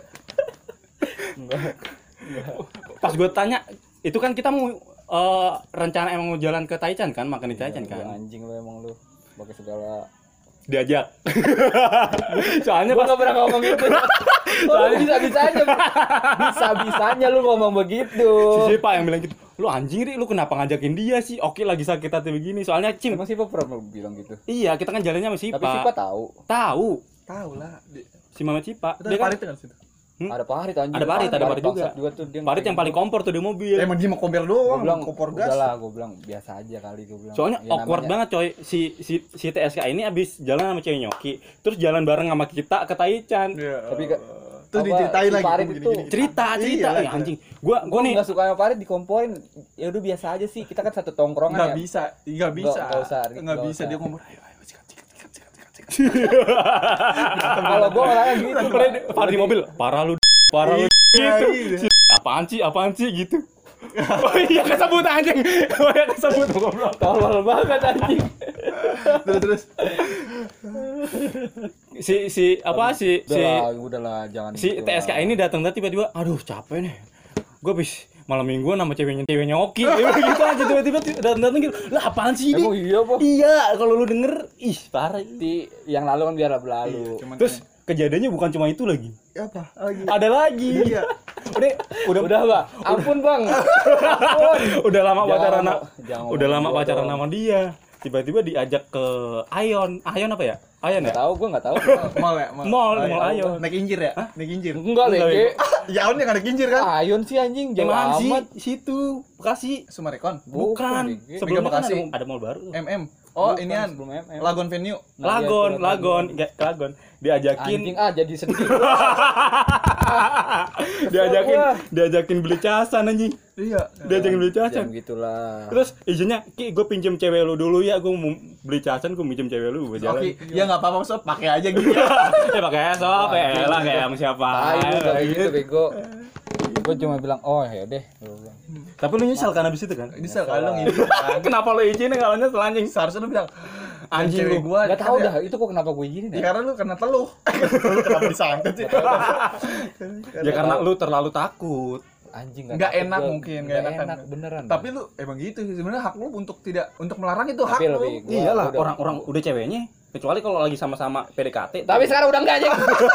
Pas gue tanya, itu kan kita mau rencana emang mau jalan ke Taichan kan, makan di Taichan Lu kan. anjing lu emang lu. Pakai segala. Diajak. Soalnya Gua pas enggak pernah ngomong gitu. Soalnya bisa-bisanya lu ngomong begitu. si Pak yang bilang gitu, lu anjing Ri, lu kenapa ngajakin dia sih? Oki lagi sakit hati begini. Soalnya Cim, Emang Sipa pernah bilang gitu. iya kita kan jalannya sama Sipa. Tapi Sipa tahu. Tahu Tahu lah. si Mama Cipa. Dia kan kan situ. Ada Parit anjing. Ada Parit juga. Bangsat tuh dia. Parit yang paling kompor tuh di mobil. Emang dia mau kompor Gue doang, bilang kompor gas. udah lah, gue bilang biasa aja kali gue bilang. Soalnya Ya, awkward namanya- banget coy. Si TSK ini abis jalan sama cewek Nyoki, terus jalan bareng sama kita ke Taichan. Iya. Tapi gak Terus apa, diceritain si lagi Farid gini, itu gini, gini. Cerita. Iya, Eh, anjing. Gua gue nih nggak suka sama Farid dikomporin. Ya udah biasa aja sih, kita kan satu tongkrongan Nggak ya. bisa, nggak bisa. Nggak usah, Nggak nggak bisa usah. dia ngomong. Kalau gue orangnya gitu. Parah di mobil. Parah lu Iya, gitu. Apaan sih gitu. Oh iya kesebut anjing. Oh iya kesebut goblok. Tolol banget anjing. Terus. Udahlah, jangan. Si gitu TSK lah. ini datang tiba-tiba, aduh capek nih. Gue habis malam mingguan sama ceweknya Oki. Gitu aja tiba-tiba datang gitu. Lah apaan sih ini? Emang iya apa? Iya, kalau lu denger, ih parah. Yang lalu kan biar berlalu. Cuman Terus kejadiannya bukan cuma itu lagi. apa? Lagi. Ada lagi. Iya. Udah Bang. Ampun Bang. Ampun. Udah lama Jangan pacaran. ngomong Udah lama gua pacaran dong. sama dia. Tiba-tiba diajak ke Ayon apa ya? Ayon ya? Nggak tahu, gue nggak tahu. Mall ya, Mall Ayon. Naik injir ya? Naik injir. Enggak Enggak, lagi. Ya on yang naik injir kan? Ayon sih anjing, jauh Gimana sih? amat. Situ Bekasi. Sumarekon. Bukan. BG. Sebelumnya kan Bekasi. ada mall baru. MM. Oh, Bukan, inian. sebelum MM. Lagon Venue. Nah, iya, Lagon, itu Lagon. Diajakin Anjing jadi sedih. diajakin beli casan anjing. Iya. Diajakin beli Jangan casan. gitulah. Terus izinnya, Ki, gue pinjem cewek lu dulu ya, gue mau beli casan, gue pinjem cewek lu, gue jalan. Oke, ya enggak apa-apa, Sob, pakai aja gitu. Ya pakai sop, ya lah kayak sama siapa. Ayo kayak gitu bego. Gue cuma bilang, "Oh, ya deh." Gua bilang. Tapi lu nyesal kan abis itu kan? Ini kalau ngizin kan. Kenapa lu izinin kalau nyesel anjing? Seharusnya lu bilang, Anjing cewek lu. gua Enggak tahu kan dah, itu kok kenapa gue izinin ya, ya? karena lu kena teluh. Lu kenapa disantet sih? Ya karena lu terlalu takut. Anjing Nggak takut enak gua. mungkin, Nggak nggak enak enak kan. beneran. Tapi lu emang gitu sih, sebenarnya hak lu untuk melarang itu hak Tapi lu. lebih gua Iyalah, udah- orang-orang udah ceweknya, kecuali kalau lagi sama-sama PDKT. Tapi sekarang udah enggak aja.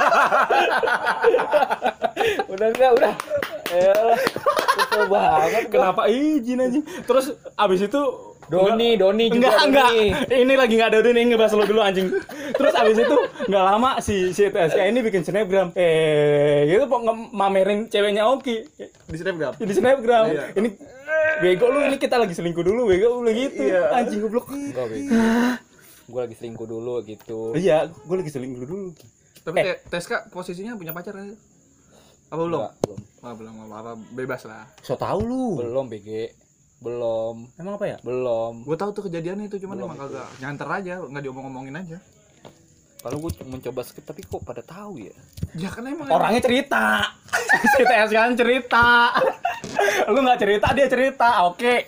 udah. Elah. Kesel banget gua. Kenapa izin anjing? Terus abis itu Doni juga. enggak. Doni. Ini lagi enggak ada Doni, ngebahas lu dulu anjing. Terus abis itu enggak lama si TSK ini bikin snapgram. Gitu kok mamerin ceweknya Oki Di snapgram. di snapgram. Iya. Ini bego lu, ini kita lagi selingkuh dulu, bego lu gitu. Iya. Anjing goblok. Enggak bego. Gue lagi selingkuh dulu gitu. Iya, gue lagi selingkuh dulu. Tapi Teska posisinya punya pacar aja. Apa belum? Enggak, belum. Oh, belum apa bebas lah. So tahu lu. Belum BG. Belum. Emang apa ya? Belum. Gue tahu tuh kejadiannya itu cuman Belum emang itu. kagak nyanter aja, nggak diomong-omongin aja. Kalau gue mencoba skip tapi kok pada tahu ya. Ya kan emang Orangnya cerita. Si TS kan cerita. Lu nggak cerita, dia cerita. Oke.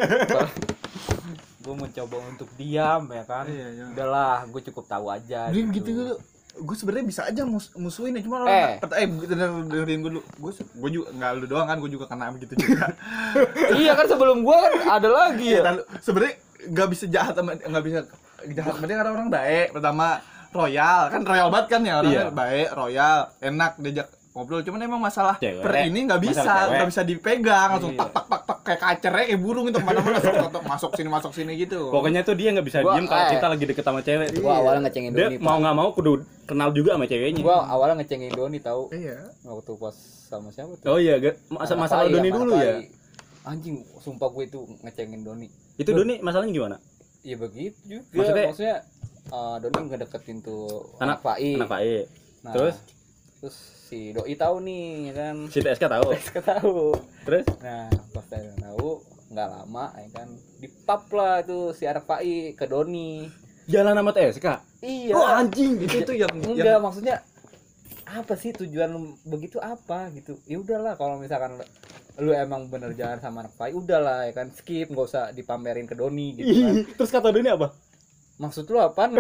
Gue mencoba untuk diam ya kan. Iya, iya. Udahlah, gue cukup tahu aja. Dia gitu dulu. Gue sebenarnya bisa aja musuhin ya, cuma orang dengerin gue dulu. Gue juga nggak lu doang kan, gue juga kena begitu juga. Iya kan sebelum gue kan ada lagi ya. Iya, sebenarnya nggak bisa jahat sama dia karena orang baik. Pertama royal banget kan ya orangnya. Iya. Baik, royal, enak diajak ngobrol. Cuman emang masalah Cewek. per ini nggak Masalah bisa dipegang langsung Iya. tak kayak kacernya kayak burung itu kemana-mana masuk sini gitu. Pokoknya tuh dia nggak bisa Gua- diem kalau kita lagi deket sama cewek. Gue awalnya ngecengin Dia Doni. mau nggak mau kudu kenal juga sama ceweknya. Gue awalnya ngecengin Doni tahu. Iya. Waktu pas sama siapa tuh? Oh iya, masalah Anak Doni Pai, dulu anak ya. Pai. Anjing, sumpah gue itu ngecengin Doni. Itu Doni masalahnya gimana? Iya begitu juga. Maksudnya- Maksudnya Doni ngedeketin tuh Anak Pai. Anak Pak E. Nah, Terus terus si Doi tahu nih ya kan. si TSK tahu. Saya tahu. Terus Nah, pas saya tahu nggak lama ya kan dipap lah itu si anak Pai ke Doni. jalan sama TSK. Iya. Oh anjing. Itu yang Enggak, maksudnya apa sih tujuan lu begitu apa gitu. Ya udahlah kalau misalkan lu emang bener jalan sama anak Pai, udahlah ya kan skip, nggak usah dipamerin ke Doni gitu kan. Terus kata Doni apa? Maksud lu apaan?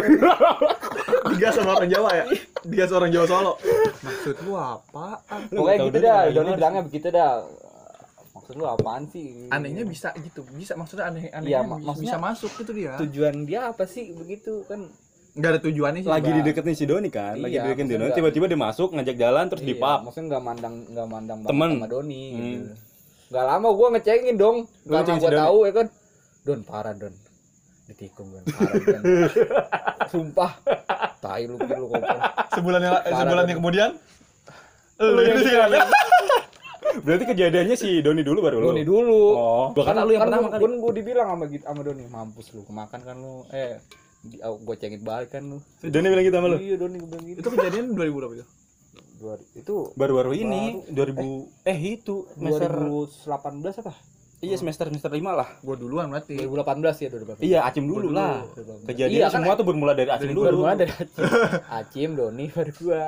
dia sama orang Jawa ya. Dia seorang Jawa Solo. Maksud lu apaan? Pokoknya tahu gitu Doni dah, kayak Doni gimana bilangnya begitu dah. Maksud lu apaan sih? Anehnya bisa gitu, bisa maksudnya anehnya Iya, bisa maksudnya masuk gitu dia. tujuan dia apa sih begitu kan? Nggak ada tujuannya sih. Lagi Bang. dideketin si Doni kan, lagi Iya, dideketin si maksudnya Doni, enggak. tiba-tiba dia masuk ngajak jalan terus Iya, dipap. maksudnya nggak mandang banget Temen. sama Doni gitu. Hmm. Nggak lama gua ngecengin dong, Lu karena ngecengin si gua Doni? tahu ya kan. Don parah Don. Ditikung Don, parah Don. Sumpah. Tai lu gitu goblok. Sebulan yang kemudian Lu yang Berarti kejadiannya si Doni dulu baru lu. Doni dulu. Oh, bahkan lu yang pertama kali. Kan gua dibilang sama Doni, mampus lu kemakan kan lu. Gua cengin balik kan lu. Doni bilang gitu sama lu. Iya Doni gua bilang gitu. itu kejadian 2000 berapa itu? Itu Baru-baru ini 2000 itu semester 2018 apa? iya semester 5 lah. Gua duluan berarti. 2018 ya 2018. Iya, Acim dulu lah. Kejadian Iya, kan, semua tuh bermula dari Acim dulu. baru mulai dari Acim, Doni, baru gua.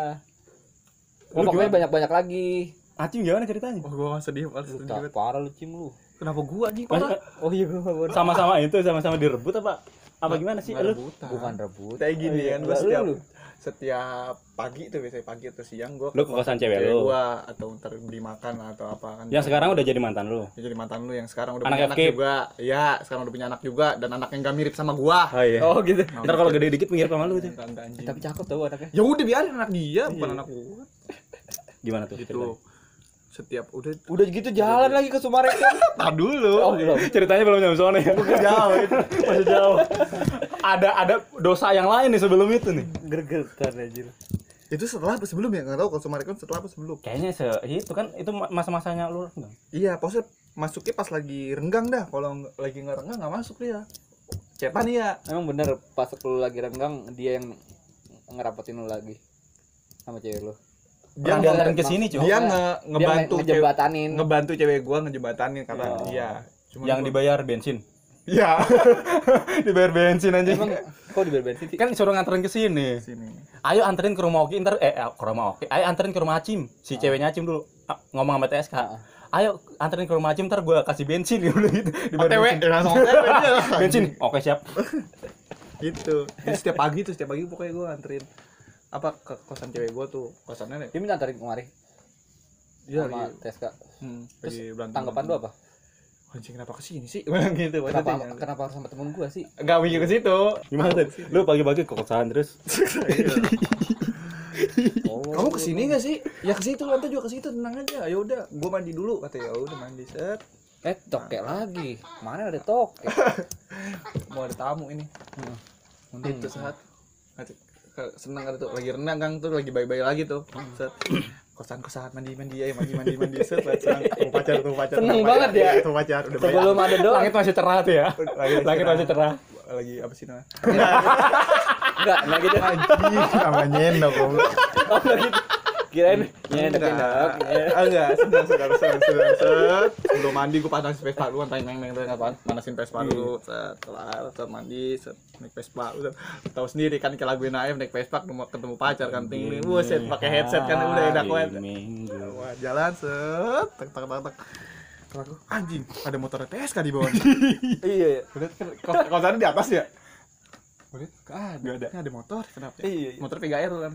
Lu Pokoknya gimana? banyak lagi. Acim gimana ceritanya? Oh, gua sedih banget. Parah lu Cim lu. Kenapa gua anjing parah? Oh iya gua baru. Sama-sama itu sama-sama direbut apa? Apa gimana sih? Nggak Lu rebutan. Bukan rebut. Kayak gini kan, gua Lu. setiap pagi tuh biasanya pagi atau siang gua Lu ke kosan cewek lu. gua atau ntar beli makan atau apa kan. yang sekarang udah jadi mantan lu. Ya, jadi mantan lu yang sekarang udah Anak punya anak FK. juga. Iya, sekarang udah punya anak juga dan anaknya nggak mirip sama gua. Oh iya. Oh gitu. Ntar kalau gede dikit mirip sama lu tuh. Enggak, anjing. Tapi cakep tau anaknya. Ya udah biarin anak dia, bukan anak gua. Gimana tuh? Gitu. Setiap udah Udah gitu jalan lagi ke Sumarekon. tar dulu. Oh belum. Ceritanya belum nyampe sana ya. Jauh. Masih jauh. Ada dosa yang lain nih sebelum itu nih. Gergetan anjir. Itu setelah apa sebelum ya? Enggak tahu kalau Sumarekon setelah apa sebelum. Kayaknya itu kan itu masa-masanya lu enggak? Iya, pokoknya masuknya pas lagi renggang dah. Kalau lagi nggak renggang nggak masuk dia. Cepan iya. Emang bener pas lu lagi renggang dia yang ngerapetin lu lagi sama cewek lu. Dia Orang diantarin dia- ke sini, Cok. Dia Dia ngebantu ngejembatanin. ngebantu cewek gua ngejembatanin karena Oh. iya. Cuma Yang dibayar bensin. Iya. Dibayar bensin anjing. Emang kok di bensin sih? Kan suruh nganterin ke sini. Sini. Ayo anterin ke rumah Oki ntar ke rumah Oki. Ayo anterin ke rumah Acim. Si ceweknya Acim dulu ngomong sama TSK. Ayo anterin ke rumah Acim ntar gua kasih bensin gitu. Dibayar OTW, bensin. langsung OTW dia. Bensin. Oke, siap. Gitu. Jadi setiap pagi pokoknya gua anterin apa ke kosan cewek gua tuh. Kosannya nih. Dia minta antarin kemari Iya, sama lagi- TSK. Terus Terus berantem. tanggapan lu apa? Anjing kenapa kesini sih? Bilang gitu. Kenapa harus sama temen gua sih? Enggak mikir ke situ. Gimana tuh? Lu pagi-pagi ke kosan terus. Kamu kesini nggak sih? Ya ke situ, nanti juga ke situ, tenang aja. Ya udah, gua mandi dulu. Kata ya udah mandi set. Toke lagi. Mana ada toke? Mau ada tamu ini. Itu saat senang ada tuh lagi renang Kang tuh lagi bayi-bayi lagi tuh. Set. Kosan mandi set senang tuh pacar. Seneng banget ya. Tuh pacar udah bayi. Sebelum ada doang. Langit masih cerah tuh ya. Langit masih cerah. Lagi apa sih namanya? Enggak gitu. Anjing namanya enak goblok. Oh, enggak gitu. Kirain nyendok. Enggak, sedang set. Sebelum mandi gue panasin Vespa dulu, panasin Vespa dulu. Set, kelar, set mandi, set naik Vespa. Udah tahu sendiri kan kayak laguin Naif naik Vespa ketemu pacar kan ting. Buset pakai headset kan udah enak banget. Wah, jalan set, tak. Aku anjing, ada motor TSK di bawah. Iya. Kosannya di atas ya? Boleh? Enggak ada. Ini ada motor, kenapa? Iya. Motor PGR kan.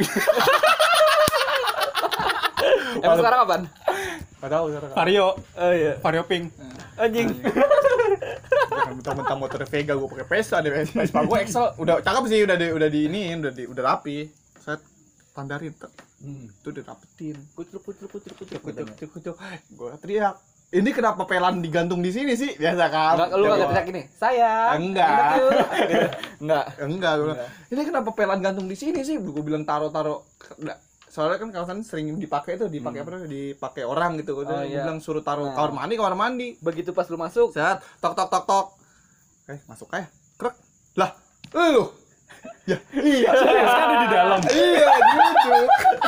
Emang sekarang apaan? Enggak tahu sekarang. Vario. Oh iya. Vario pink. Anjing. Mentang-mentang motor Vega gue pakai Vespa deh, Vespa gue Excel udah cakep sih, udah diiniin, udah rapi. Saya tandarin tuh. Itu udah rapetin. Kucuk. Gue teriak. Ini kenapa pelan digantung di sini sih? Biasa kan. Lu enggak teriak gini. Sayang. Enggak. Gue bilang, ini kenapa pelan gantung di sini sih? Gue bilang taruh. Soalnya kan kawasan sering dipakai dipakai orang gitu. Gue bilang suruh taruh kamar mandi. Begitu pas lu masuk, Set, tok. Masuk aja. Krek. Lah, lu. Ya, iya. Kan di dalam. Iya, duduk.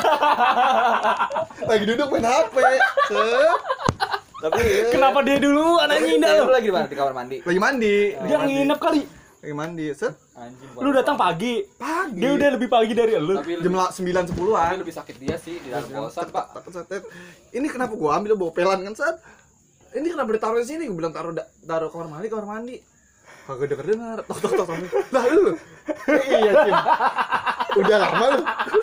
Lagi duduk main HP. Set. tapi Kenapa dia dulu anaknya dalam? lu lagi di mana? Di kamar mandi. Lagi mandi. Dia nginep kali. Lagi mandi. Set. Anjing. Lu datang pagi. Pagi. Dia udah lebih pagi dari lu. Tapi jam 9.10-an. lebih sakit dia sih di dalam kosan, Pak. Ini kenapa gua ambil bawa pelan kan, Set? Ini kenapa ditaruh di sini? Gua bilang taruh kamar mandi. Kagak dengar. Tok. Lah lu. Iya, Cim. Udah lama lu.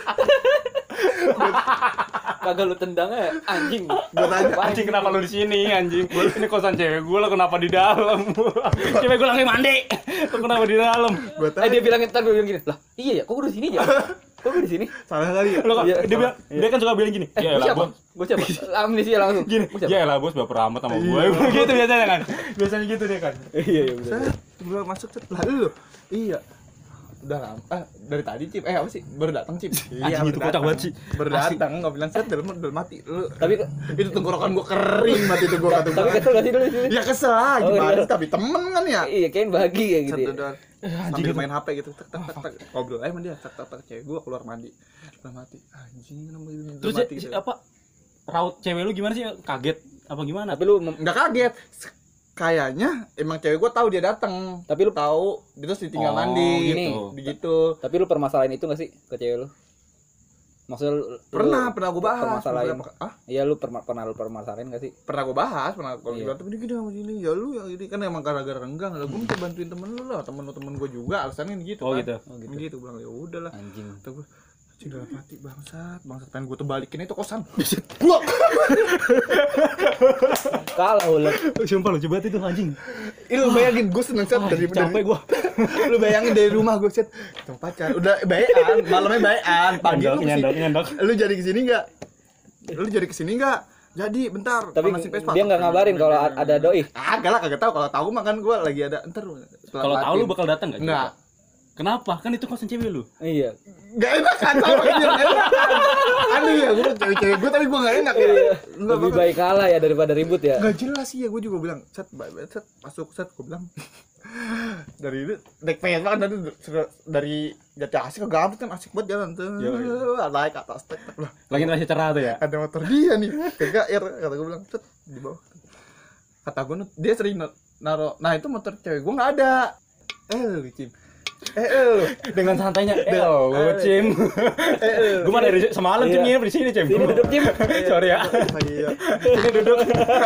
Kagak lu tendang ya, anjing. Gua tanya, Anjing kenapa lu di sini anjing? Ini kosan cewek gue, lo kenapa di dalam? Cewek gue lagi mandi. Lo kenapa di dalam? gua tanya. Dia bilangin gini. Lah, iya ya, kok gue di sini ya? Kok gue di sini? Salah kali ya? Lo Iya, dia bilang, dia kan suka bilang gini. Ya Gue lah, siapa? Bos. Gue siapa? Amnesia langsung. Gini, Gua siapa? ya lah bos baper amat sama gue. Gitu biasanya kan. Biasanya gitu dia kan. Iya, benar. Set, gua masuk Set. Lah lu. Iya. Udah lama. Dari tadi, Cip. Apa sih? Baru datang, Cip. Anjing itu kocak banget sih. Baru datang, enggak bilang Set, dalam mati. Lu. Tapi Itu tenggorokan gua kering mati itu gua kata gua. tapi kesel gak sih dulu di sini? Ya kesel lah, Oh, gimana iya. sih? Tapi temen kan ya. Iya, kayaknya bahagia gitu. Set, Ya. udah. Sambil main HP gitu. Tak. Ngobrol aja sama dia. Tak. Cewek gua keluar mandi. Udah mati. Anjing, kenapa ini udah Terus mati gitu. apa? Raut cewek lu gimana sih? Kaget apa gimana? Tapi lu Enggak kaget. Kayaknya emang cewek gua tahu dia datang. Tapi lu Tahu, dia terus ditinggal Oh, mandi gini. gitu. tapi lu permasalahan itu gak sih ke cewek lu? Maksudnya lu Pernah gua bahas. permasalahan. Ah, Iya, lu pernah lu permasalahan gak sih? pernah gue bahas, pernah gue Iya. bilang tapi gini sama gini ya lu yang ini kan emang gara-gara renggang lah gue minta bantuin temen lu lah temen gue juga alasannya gitu Oh, kan gitu. gitu bilang ya udahlah Anjing. kata gue sudah mati bangsat pengen gue terbalikin itu kosan blok Kalah ulah. Sumpah lu coba itu anjing. ini lu bayangin gue seneng set dari Capek gua. lu bayangin dari rumah gue set sama pacar udah bayan malamnya bayan pagi lu Nyendok. lu jadi kesini nggak jadi bentar Tapi panasin Vespa. dia nggak ngabarin kalau ada doi. Agak lah kagak tahu kalau tahu mah kan gue lagi ada ntar Kalau tahu lu bakal datang enggak? enggak. Kenapa? Kan itu kosan cewek lu. Iya. Gak enak kan sama ini gak enak kan. Aduh ya gue cewek-cewek gue tapi gue gak enak ya. Enggak Lebih baik kalah ya daripada ribut ya. Gak jelas sih ya gue juga bilang set masuk set gue bilang dari itu naik Vespa kan dari Jati Asih ke Gambut kan asik banget jalan tuh. Naik ke atas tek lah. Lagi masih cerah tuh ya. Ada motor dia nih ke GR kata gue bilang set di bawah. Kata gue dia sering naro. Nah itu motor cewek gue nggak ada. Cim. Dengan santainya. Cim. Gua mah dari semalam Cim nginep di sini, Cim. Sini duduk, Cim. Sorry ya. Iya. Ini duduk.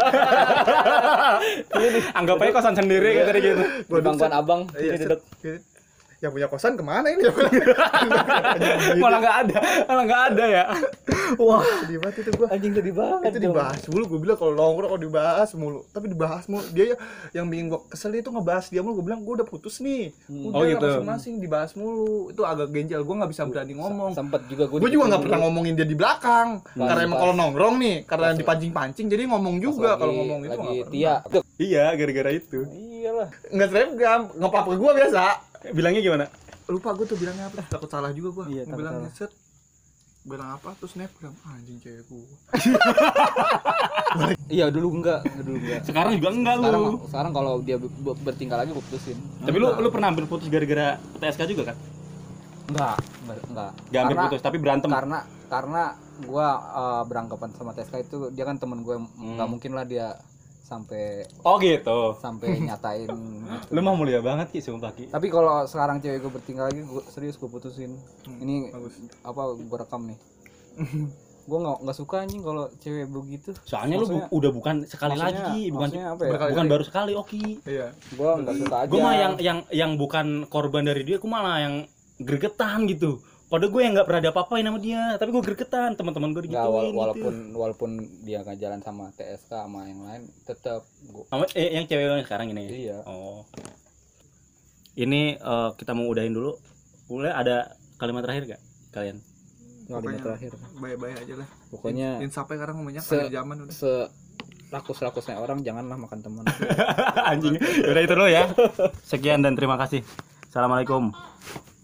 Anggap aja kosan sendiri kayak tadi gitu. Di pangkuan abang, Iya, sini duduk. Yang punya kosan kemana ini? Malah enggak ada ya. Wah, sedih banget itu gua. Anjing sedih banget. Itu dibahas mulu, gue bilang kalau nongkrong kalau dibahas mulu. Tapi dibahas mulu. Dia yang bikin gua kesel itu ngebahas dia mulu. Gue bilang gua udah putus nih. Udah Oh, gitu. masing-masing dibahas mulu. Itu agak ganjel. Gua nggak bisa berani ngomong. Sempet juga Gue juga nggak pernah ngomongin dia di belakang. Karena emang kalau nongkrong nih, karena dipancing-pancing, jadi ngomong juga kalau ngomong itu lagi nggak Tia. pernah. Iya, gara-gara itu. Iyalah. Nggak selebgram, ngepap ke gua biasa. Bilangnya gimana? Lupa gue tuh bilangnya apa, takut salah juga gue. Iya, takut bilang salah. set bilang apa terus snapgram anjing cewek gue. Iya, dulu enggak. Sekarang juga enggak lu. Sekarang kalau dia bertingkah lagi gue putusin. Tapi lu pernah hampir putus gara-gara TSK juga kan? Enggak. Gak hampir putus, tapi berantem. Karena beranggapan sama TSK itu dia kan temen gue, nggak mungkin lah dia sampai Oh gitu. nyatain gitu. Lu mah mulia banget Ki, sumpah Ki. Tapi kalau sekarang cewek gue bertingkah lagi, serius gue putusin. Ini bagus. apa gue rekam nih. Gue nggak suka anjing kalau cewek begitu. Soalnya Maksudnya- lu udah bukan sekali maksudnya- lagi, bukan maksudnya apa ya? berkali-kali. bukan baru sekali Oki. Iya. Gue nggak suka aja. Gue mah yang bukan korban dari dia, gue malah yang gregetan gitu. Padahal gue yang nggak pernah ada apa-apain sama dia, tapi gue gregetan, teman-teman gue Nggak, digituin walaupun dia nggak jalan sama TSK sama yang lain, tetap gue. Sama, yang cewek yang sekarang ini. Iya. Oh. Ini kita mau udahin dulu. Boleh ada kalimat terakhir gak kalian? Kalimat terakhir. Bye-bye aja lah. Pokoknya Insapnya sekarang ngomongnya Se- kayak zaman udah. rakus-rakusnya orang janganlah makan teman. Anjing. Udah itu dulu ya. Sekian dan terima kasih. Assalamualaikum.